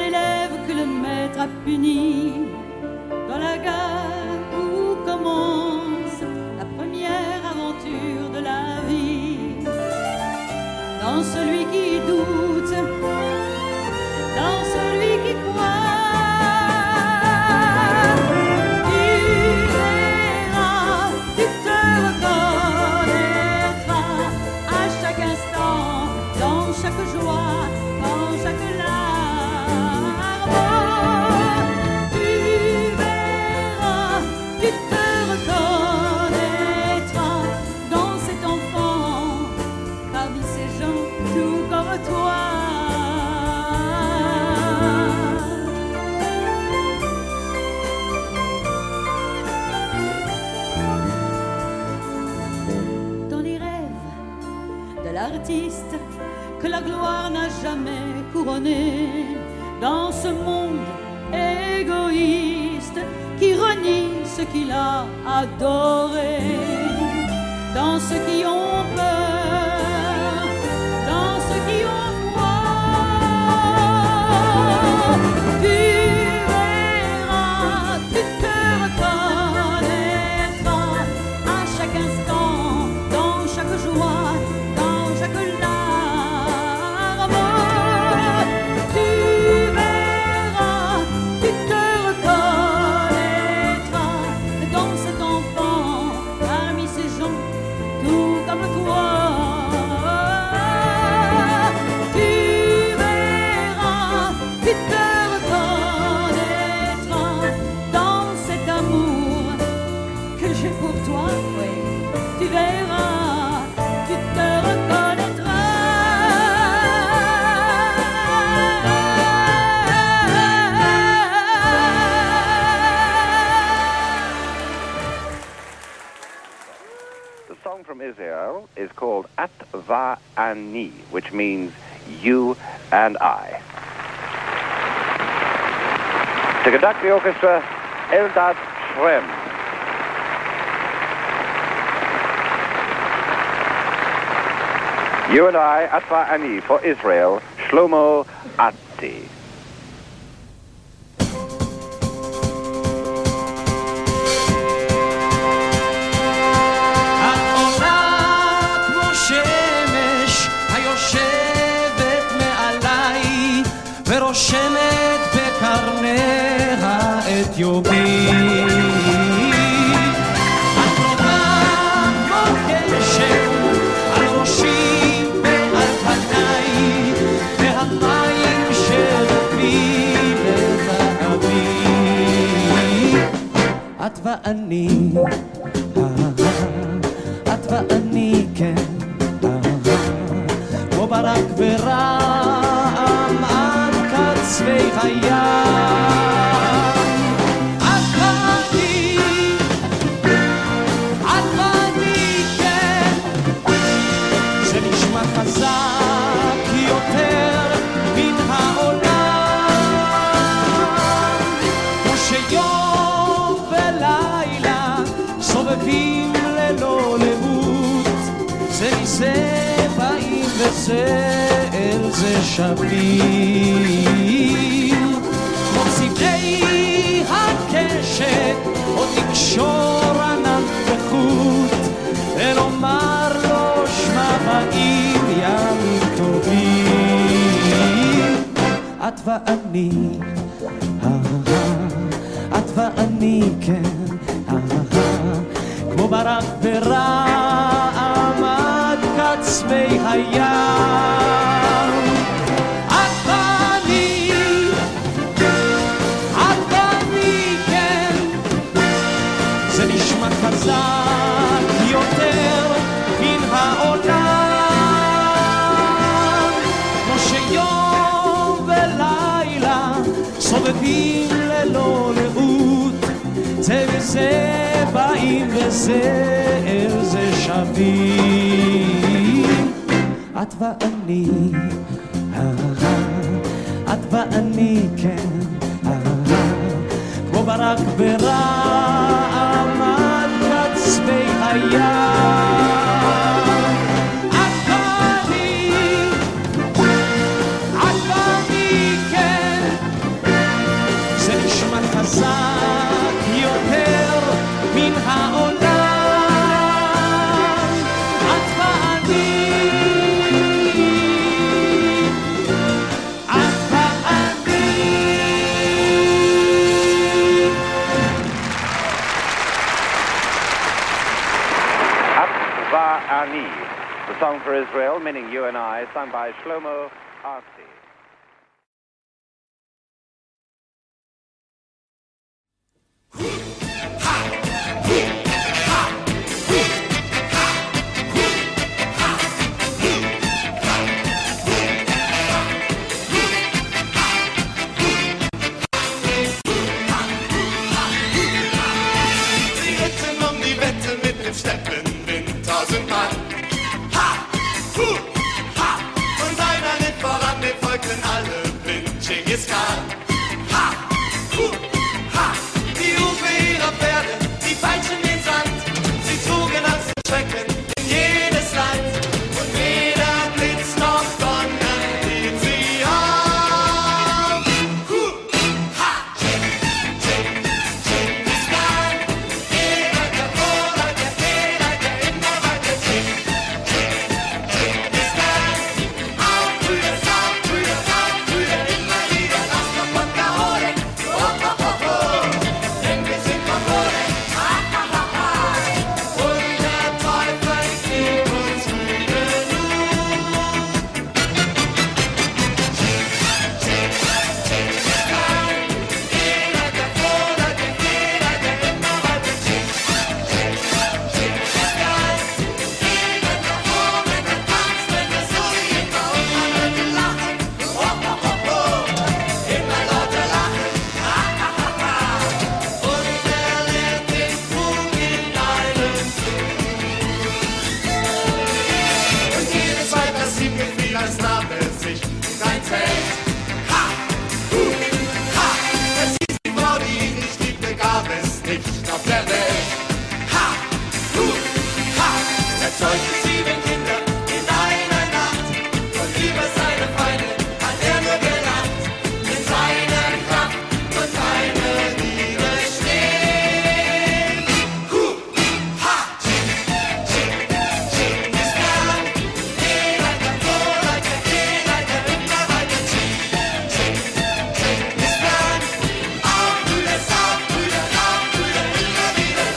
l'élève que le maître a puni. Dans la gare où commence la première aventure de la vie. Dans celui qui doute, dans celui qui croit. Chaque joie, dans chaque larme, tu verras, tu te reconnaîtras dans cet enfant, parmi ces gens tout comme toi. Dans les rêves de l'artiste que la gloire n'a jamais couronné, dans ce monde égoïste qui renie ce qu'il a adoré, dans ceux qui ont peur, dans ceux qui ont froid, tu verras, tu te reconnaîtras à chaque instant, dans chaque joie, dans chaque larme. Israel is called Atva Ani, which means you and I. To conduct the orchestra, Eldad Shrem. You and I, Atva Ani, for Israel, Shlomo Atti. ורושמת בקרניה את יובי. את קרובה כמו גשם על ראשי ועל פניי, והמים שרפי לזהבי. את ואני, את ואני, כן, כמו ברק ורעם צבי הים. את ואני, את ואני, כן, זה נשמע חזק יותר מן העולם, כמו שיום ולילה סובבים ללא לאות, זה מזה באים וזה אל זה שווים, כמו צבעי הקשת עוד נקשור ענן בחוט ולומר לו שמע באים ימים טובים. את ואני, את ואני, כן, כמו ברק ורעם עד קצווי הים. את ואני, את ואני, כן, זה נשמע חזק יותר מן העולם, כמו שיום ולילה סובבים ללא לאות, זה וזה באים וזה אל זה שווים. את ואני, את ואני, כן, כמו ברק ורעם עד קצווי הים. את ואני, את ואני, כן, חזק יותר מן העולם. את ואני, את ואני. At Va'ani, the song for Israel, meaning you and I, sung by Shlomo Artzi. Sie ritten um die Wette mit dem Steppenwind tausendmal. Ha! Hu! Ha! Und einer litt voran, dem folgten alle blind Genghis Khan. Ha! Hu! Ha! Die Hufe ihrer Pferde, die Peitschen den Sand. Sie trugen Angst und Schrecken in jedes Land. Und weder Blitz noch Donner hielt sie auf. Hu! Ha! Genghis Khan. Jeder der Vorder, der Fehler, der immer weiter schickt. Genghis Khan. Aufbrüder, Saufbrüder, Aufbrüder, immer wieder lasst doch Wodka holen. Oh, oh, oh, oh. Denn wir sind Mongolen. Ha, ha, ha, ha. Und der Teufel gibt uns Mühe nun. Genghis Khan. Jeder der Vorder, der Fehler, der immer weiter schickt. Genghis Khan. Jeder der Hohen, der tanzt, wenn es so immer und man hört ihn lachen. Oh, oh, oh, oh. Immer lauter lachen. Ha, ha, ha, ha. Und er lehrt den Fug in einem Zug. Und jedes Weib, das ihm gefiel, als nahm er sich kein Zelt. Ha! Hu! Ha! Es hieß, die Frau, die ihn nicht liebte, gab es nicht auf der Welt. Ha! Hu! Ha! Er zeugte sieben Kinder in einer Nacht. Und über seine Feinde hat er nur gelacht. In seiner Kraft wird keiner widerstehen. Hu! Ha! Genghis Khan. Jeder der Vorder, der Fehler, der immer weiter schickt. Genghis Khan. Aufbrüder, Saufbrüder, Aufbrüder, immer wieder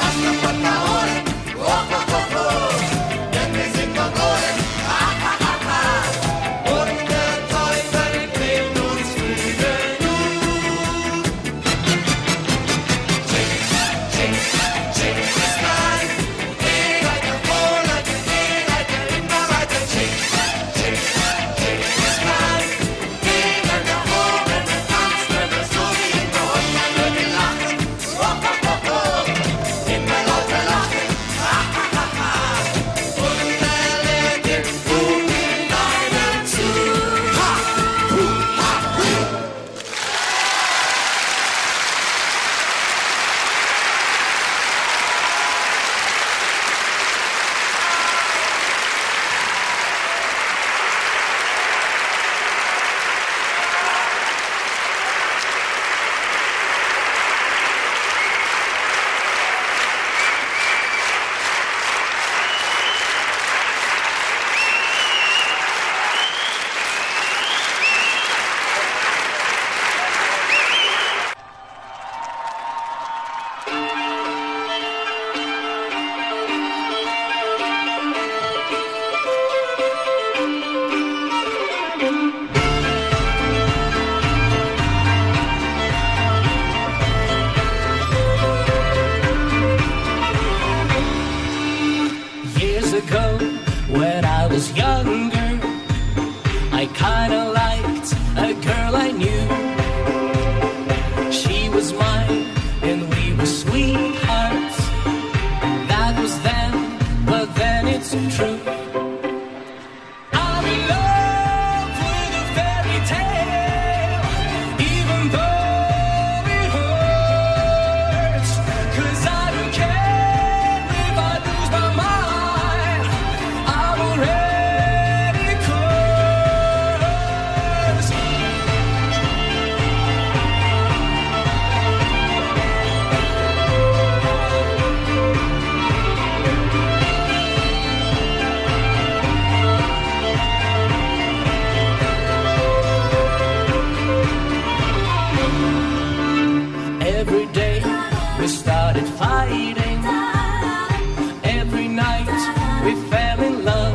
we started fighting. Every night we fell in love.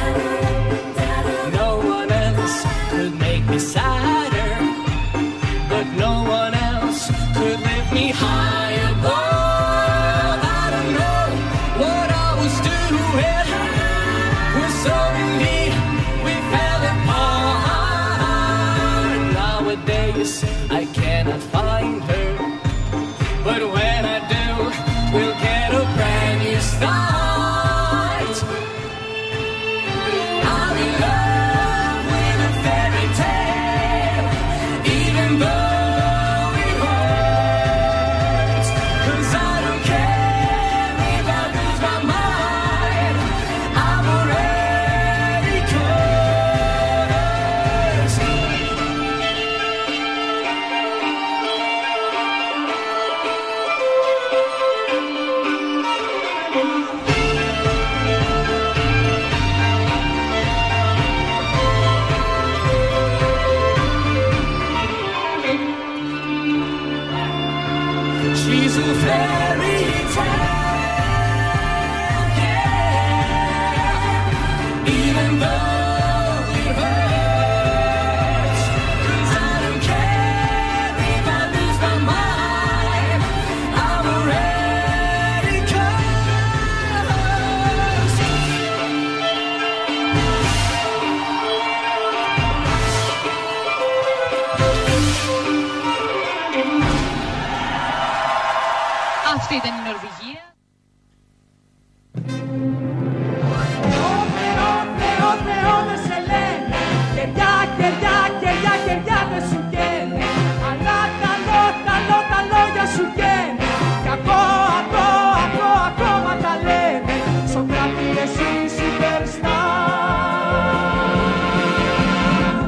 No one else could make me sadder, but no one else could lift me high above. I don't know what I was doing, we're so in deep, we fell apart. Nowadays I cannot find her, but when I do, we'll get a brand new start. I'm in love with a fairy tale, even though it hurts. 'Cause I don't care if I lose my mind, I'm already cursed. She's a fairy tale, yeah. Even though it hurts, 'cause I don't care if I lose my mind, I'm already cursed. Αυτή ήταν η Νορβηγία. Θεό, Θεό, Θεό, δεν σε λένε. Κεριά, κεριά, κεριά, κεριά δεν σου καίνε. Αλλά καλό, καλό, τα λόγια σου καίνε. Κι ακό, ακό, ακό, ακόμα τα λένε. Σοκράτη, εσύ superstar.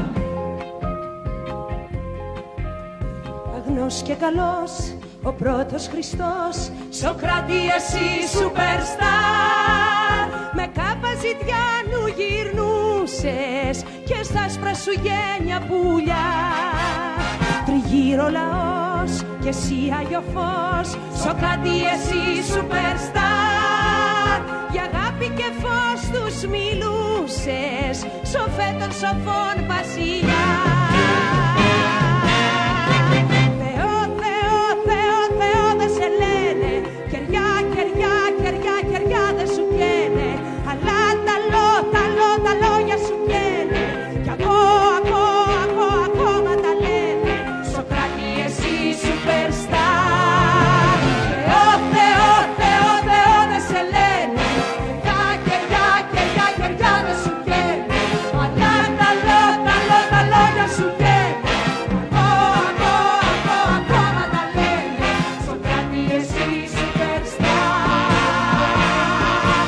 Αγνός και καλός, ο πρώτος Χριστός, Σοκράτη εσύ superstar. Με κάπα ζητιάνου γυρνούσες και στα άσπρα σου γένια πουλιά. Τριγύρω λαός και εσύ Άγιο Φως, Σοκράτη εσύ superstar. Για αγάπη και φως τους μιλούσες, σοφέ των σοφών βασιλιά. Θεό, Θεό, Θεό, Θεό δεν σε λένε. Κεριά, κεριά, κεριά, κεριά δεν σου καίνε. Αλλά τα λό, τα λό, τα λόγια σου καίνε. Κι ακό, ακό, ακό, ακόμα τα λένε. Σοκράτη εσύ superstar. Θεό, Θεό, Θεό, Θεό δεν σε λένε. Κεριά, κεριά, κεριά, κεριά δεν σου καίνε. Αλλά τα λό, τα λό, τα λόγια σου καίνε. Ακό, ακό, ακό, ακόμα τα λένε. Σοκράτη εσύ superstar.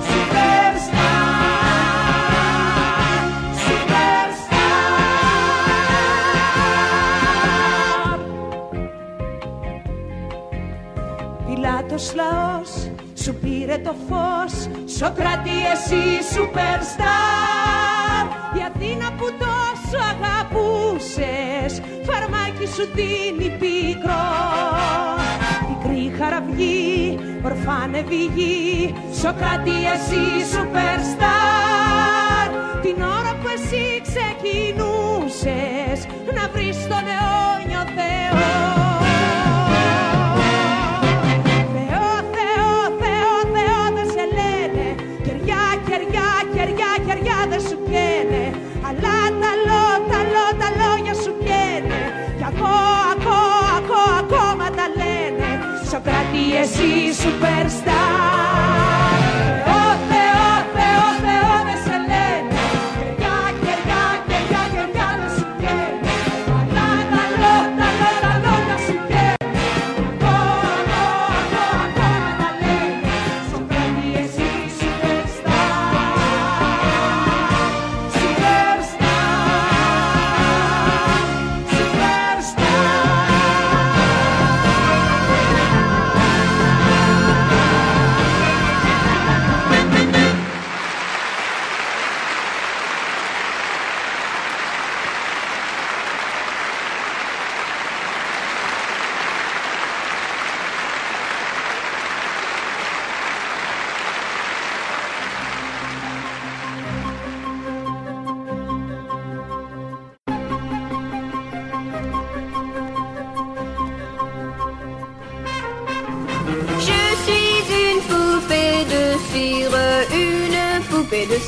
Πιλάτος λαός σου πήρε το φως, Σοκράτη εσύ superstar. Η Αθήνα που τόσο αγαπούσες, φαρμάκι σου δίνει πίκρο. Πικρή χαραυγή, ορφάνευη γη, Σοκράτη εσύ superstar. Την ώρα που εσύ ξεκινούσες να βρεις τον αιώνιο Θεό. Θεό, Θεό, Θεό, Θεό δεν σε λένε. Κεριά, κεριά, κεριά, κεριά δεν σου καίνε. Αλλά τα λό, τα λό, τα λόγια σου καίνε. Κι ακό, ακό, ακό, ακόμα τα λένε. Σοκράτη εσύ superstar. Θεό, Θεό, Θεό, Θεό δεν σε λένε. Κεριά, κεριά, κεριά, κεριά δεν σου καίνε. Αλλά τα λό, τα λό, τα λόγια σου καίνε. Ακό, ακό, ακό, ακόμα τα λένε. Σοκράτη εσύ superstar. Superstar. Superstar.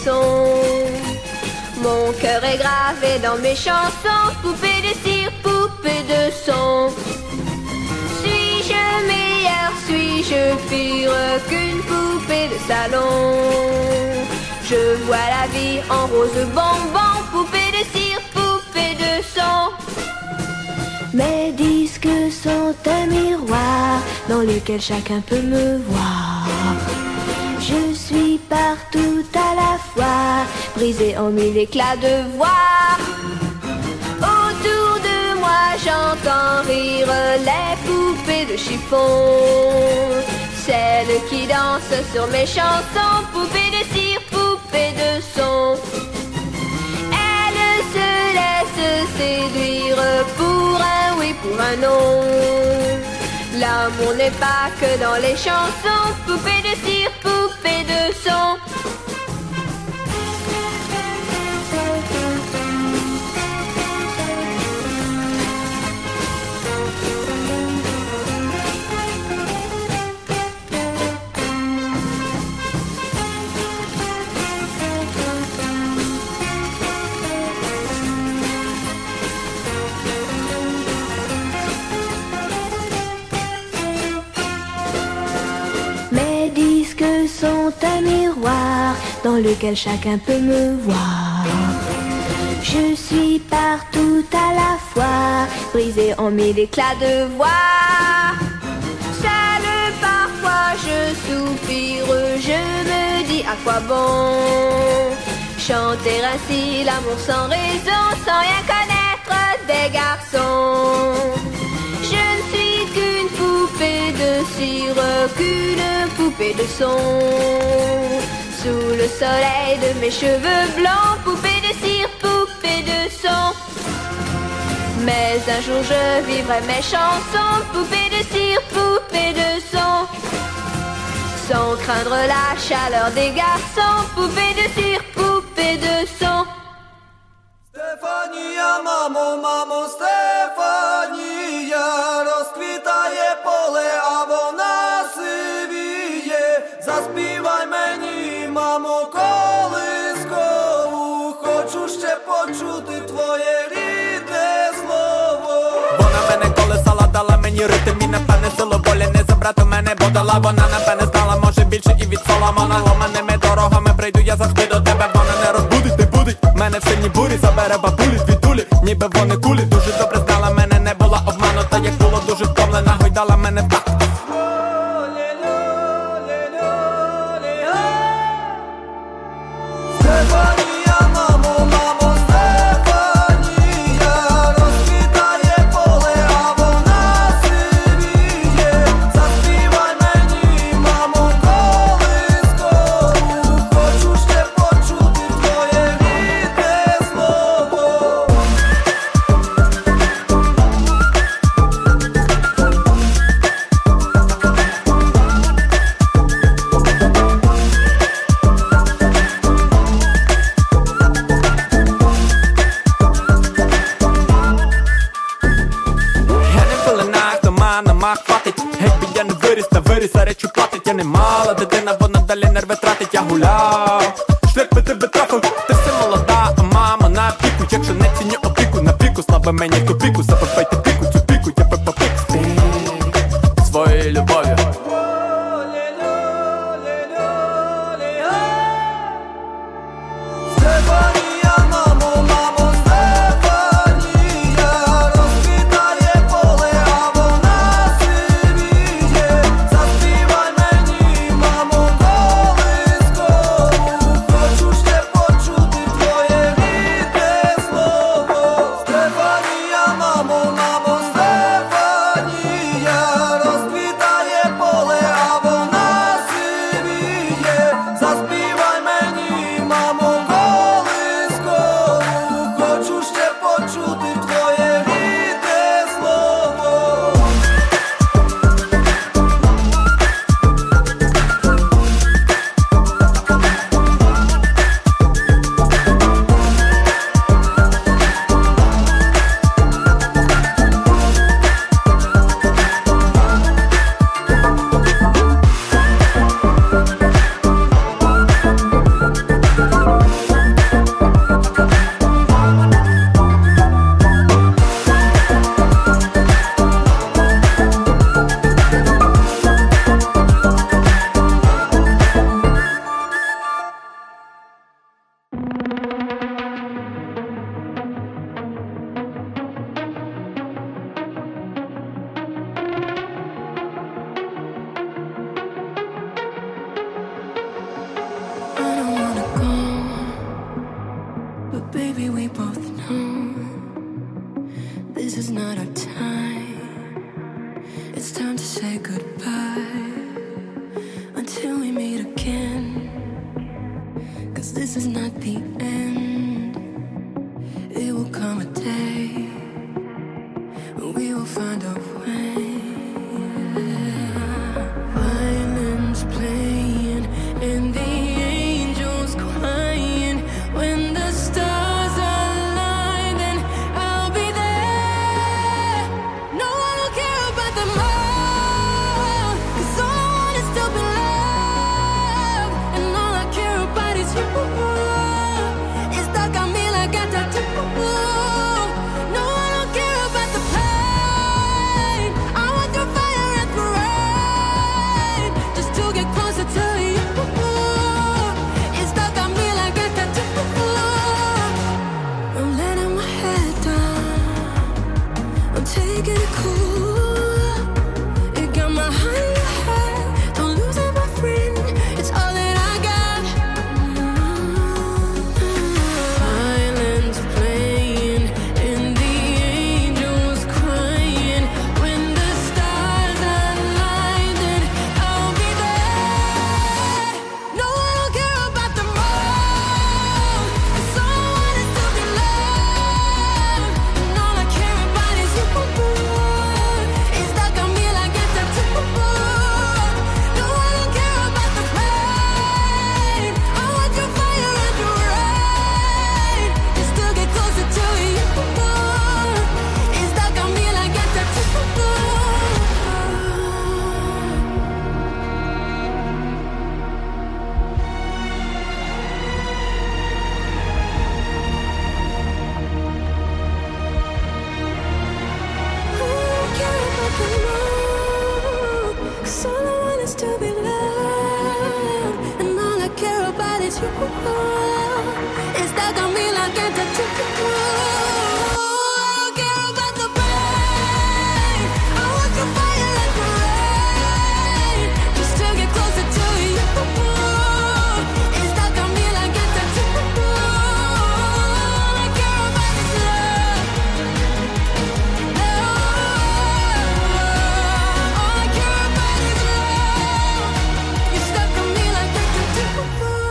son. Mon cœur est gravé dans mes chansons, poupée de cire, poupée de son. Suis-je meilleure, suis-je pire qu'une poupée de salon? Je vois la vie en rose bonbon, poupée de cire, poupée de son. Mes disques sont un miroir dans lequel chacun peut me voir. Je suis partout à la fois, brisée en mille éclats de voix. Autour de moi j'entends rire les poupées de chiffon, celles qui dansent sur mes chansons, poupées de cire, poupées de son. Elles se laissent séduire pour un oui, pour un non. L'amour n'est pas que dans les chansons, poupée de cire, poupée de son. Sont un miroir dans lequel chacun peut me voir. Je suis partout à la fois, brisée en mille éclats de voix. Seule parfois je soupire, je me dis à quoi bon chanter ainsi l'amour sans raison, sans rien connaître des garçons. Je ne suis qu'une poupée de cire, qu'une poupée de son. Sous le soleil de mes cheveux blancs, poupée de cire, poupée de son. Mais un jour je vivrai mes chansons, poupée de cire, poupée de son. Sans craindre la chaleur des garçons, poupée de cire, poupée de son. Стефанія, мамо, мамо, Стефанія, розквітає поле, а вона сивіє. Заспівай мені, мамо, колискову, хочу ще почути твоє рідне слово. Вона мене колесала, дала мені ритм і напевне силу волі не забрати мене, бо дала. Вона напевне знала, може більше і від Соломона. Ломаними дорогами прийду я завжди до тебе. Вона не розбудить, не будить мене в сильній бурі, забере бабулі, звідулі, ніби вони кулі. Дуже добре знала мене, не була обманута, як було дуже втомлена, гойдала мене в такт. Стефанія, мамо, мамо, Стефанія, розквітає поле, а вона сивіє. Заспівай мені, мамо, колискову, хочу ще почути твоє рідне слово. Мах хватить, якби я не виріс, та виріс, а речі платить. Я не мала дитина, вона далі нерви тратить. Я гуляв, шлях би тебе трафив. Ти все молода, а мама на піку. Якщо не ціню опіку, на піку, слава мені ту піку. Забивайте піку, цю піку, я пепа пік. Своєю любов'ю. Стефанія, мамо, мамо, Стефанія, розквітає поле, а вона сивіє. Заспівай мені, мамо, колискову, хочу ще почути твоє рідне слово. Стефанія, мамо, мамо, Стефанія, розквітає поле, goodbye until we meet again. 'Cause this is not the end. It will come a day when we will find a way. Violins playing and the angels crying. When the stars align, then I'll be there. No one will care about the more, 'cause all I want is to be loved, and all I care about is you. It's stuck on me like a tattoo. No one will care about the pain. I want through fire and through rain, just to get closer to you. It's stuck on me like a tattoo. I'm letting my head down, I'm taking it cool. You got my heart in your head, don't lose it, my friend. It's all that I got. Violins playing and the angels crying. When the stars align, then I'll be there. No one will care about the more, 'cause all I want is to be loved, and all I care about is you. It's stuck on me like a tattoo. No one will care about the pain. I want your fire and your rain, just to get closer to you. It's stuck on me like a tattoo. Cause all I want is to be loved, and all I care about is you. It's stuck on me like a tattoo. I don't care about the pain. I want your fire and your rain, just to get closer to you. It's stuck on me like a tattoo. All I care about is love. All I care about is love. You're stuck on me like a tattoo.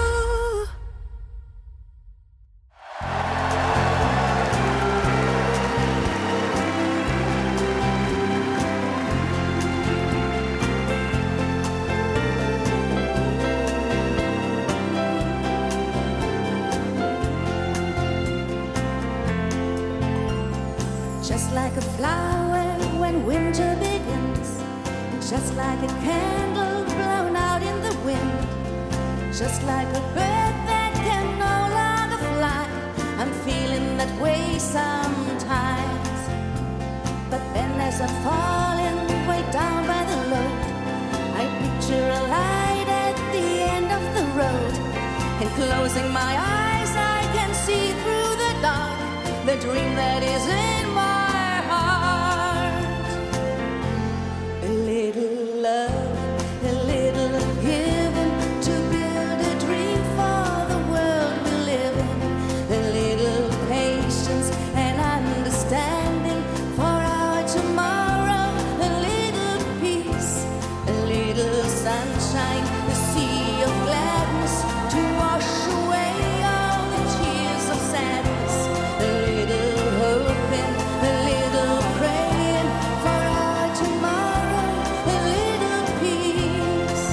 Just like a flower when winter begins, just like a candle blown out in the wind, just like a bird that can no longer fly. I'm feeling that way sometimes. But then as I'm falling way down by the road, I picture a light at the end of the road, and closing my eyes I can see through the dark the dream that is in my heart. A little love, a little given to build a dream for the world we live in. A little patience and understanding for our tomorrow. A little peace, a little sunshine, a sea of gladness to wash away all the tears of sadness. A little hoping, a little praying for our tomorrow. A little peace.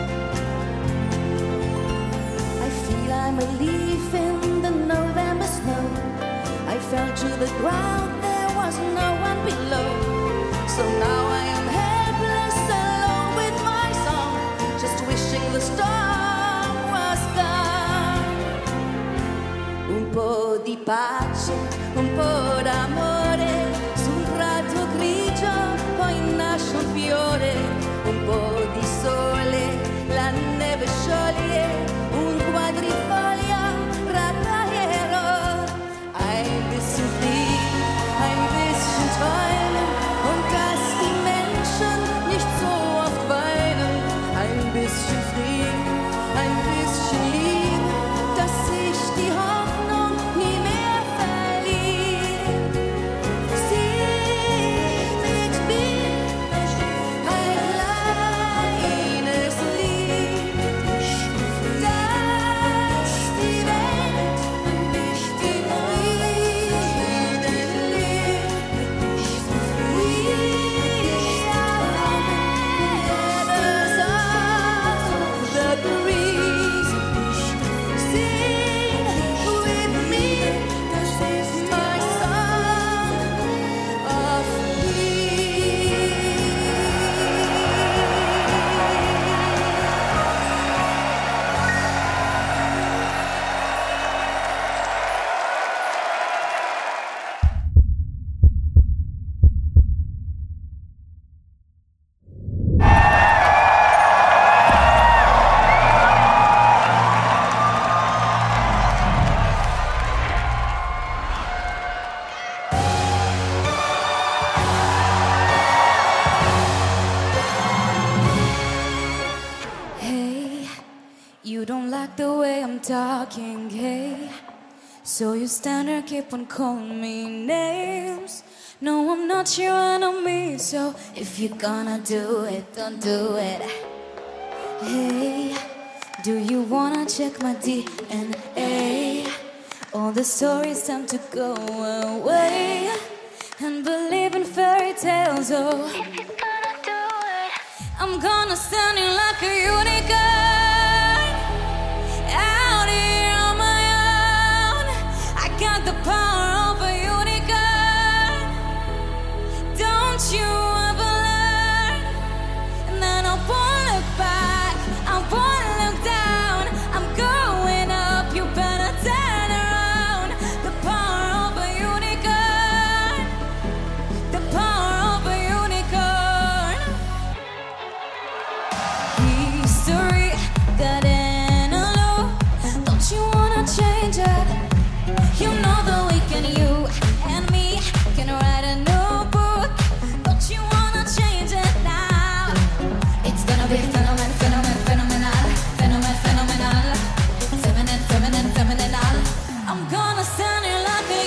I feel I'm a leaf in the November snow. I fell to the ground, there was no one below. So now I am helpless, alone with my song, just wishing the storm was gone. Un po' di pace, un po' d'amore, su un prato grigio poi nasce un fiore. Un po' di sole, la neve scioglie, un quadrifoglio rataglierò. Ein bisschen fliegen, ein bisschen träumen, und dass die Menschen nicht so oft weinen. Ein bisschen fliegen, ein bisschen lieben, dass sich die Hoffnung nie mehr verliert. You don't like the way I'm talking, hey. So you stand there, keep on calling me names. No, I'm not your enemy, so if you're gonna do it, don't do it. Hey, do you wanna check my D N A? All the stories time to go away and believe in fairy tales, oh. If you're gonna do it, I'm gonna stand in like a unicorn out here on my own. I got the power of a unicorn. Don't you ever learn? And then I won't look back, I won't look down. I'm going up, you better turn around. The power of a unicorn, the power of a unicorn. History got in a loop. Don't you wanna change it? You know that we can, you and me can write a new book. Don't you wanna change it now? It's gonna be phenomen, phenomen, phenomenal, phenomen, phenomenal, feminine, feminine, phenomenal. I'm gonna stand here like a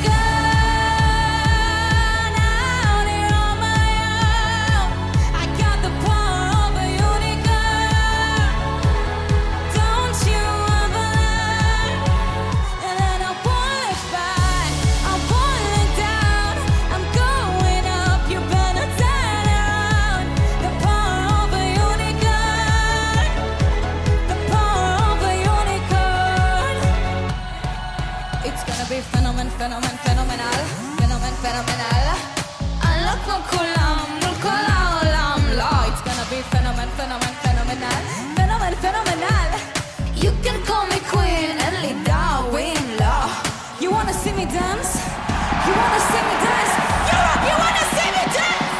unicorn out here on my own. I got the power of a unicorn. Don't you ever learn? And then I won't look back, I won't look down. I'm going up, you better turn around. The power of a unicorn, the power of a unicorn. It's gonna be phenomen, phenomen, phenomenal, phenomen, phenomenal. עלות כמו כולם, מול כל העולם, לא. It's gonna be phenomen, phenomen, phenomenal, phenomen, phenomenal. You can call me queen and lead Darwin law. You wanna see me dance? You wanna see me dance? Europe, you wanna see me dance?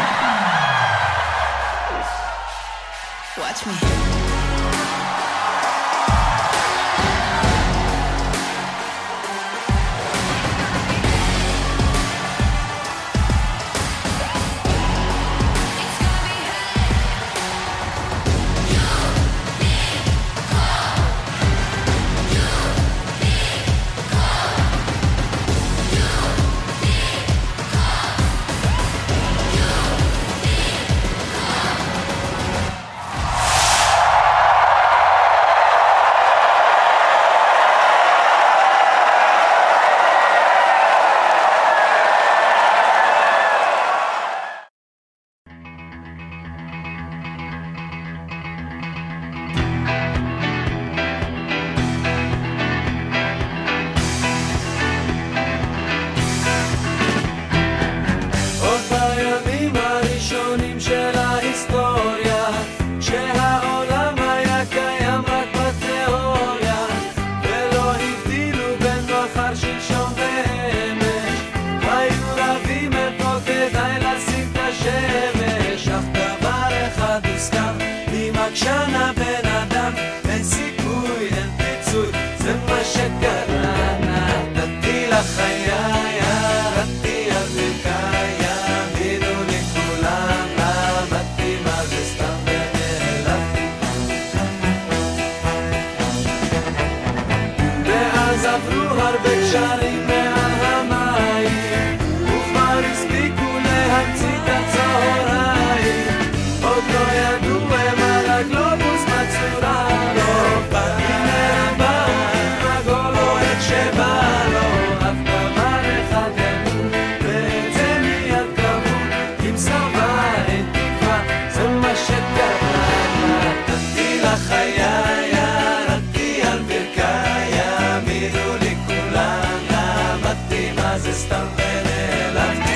Watch me. עוד בימים הראשונים של ההיסטוריה, כשהעולם היה קיים רק בתיאוריה, ולא הבדילו בין מחר, שלשום ואמש, היו רבים איפה כדאי לשים את השמש. אך דבר אחד הוסכם, אם עקשן הבן אדם, אין סיכוי, אין פיצוי, זה מה שקרה. נתתי לחיי, ירדתי על ברכיי, יאמינו לי כולם, למדתי מה זה סתם ונעלבתי. ואז עברו הרבה קשרים מעל המים, וכבר הספיקו להמציא את הצהריים. עוד לא ידעו הם על הגלובוס בצורה, לא באתי לרביים, עגול או איך שבא לו. אף דבר אחד ידעו, ואת זה מיד קבעו, אם סרבה אין תקווה, זה מה שקרה. נתתי לחיי, ירדתי על ברכיי, יאמינו לי כולם, למדתי מה זה סתם ונעלבתי.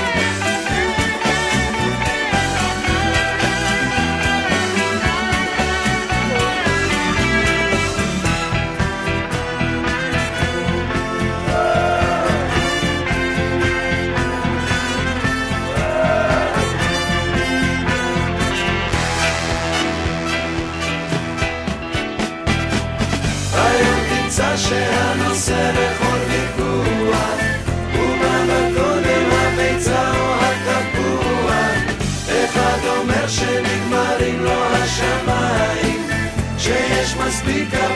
היום תמצא שהנושא בכל ויכוח, ומה בקודם הביצה או התפוח. אחד אומר שנגמרים לו השמיים, שיש מספיק הרבה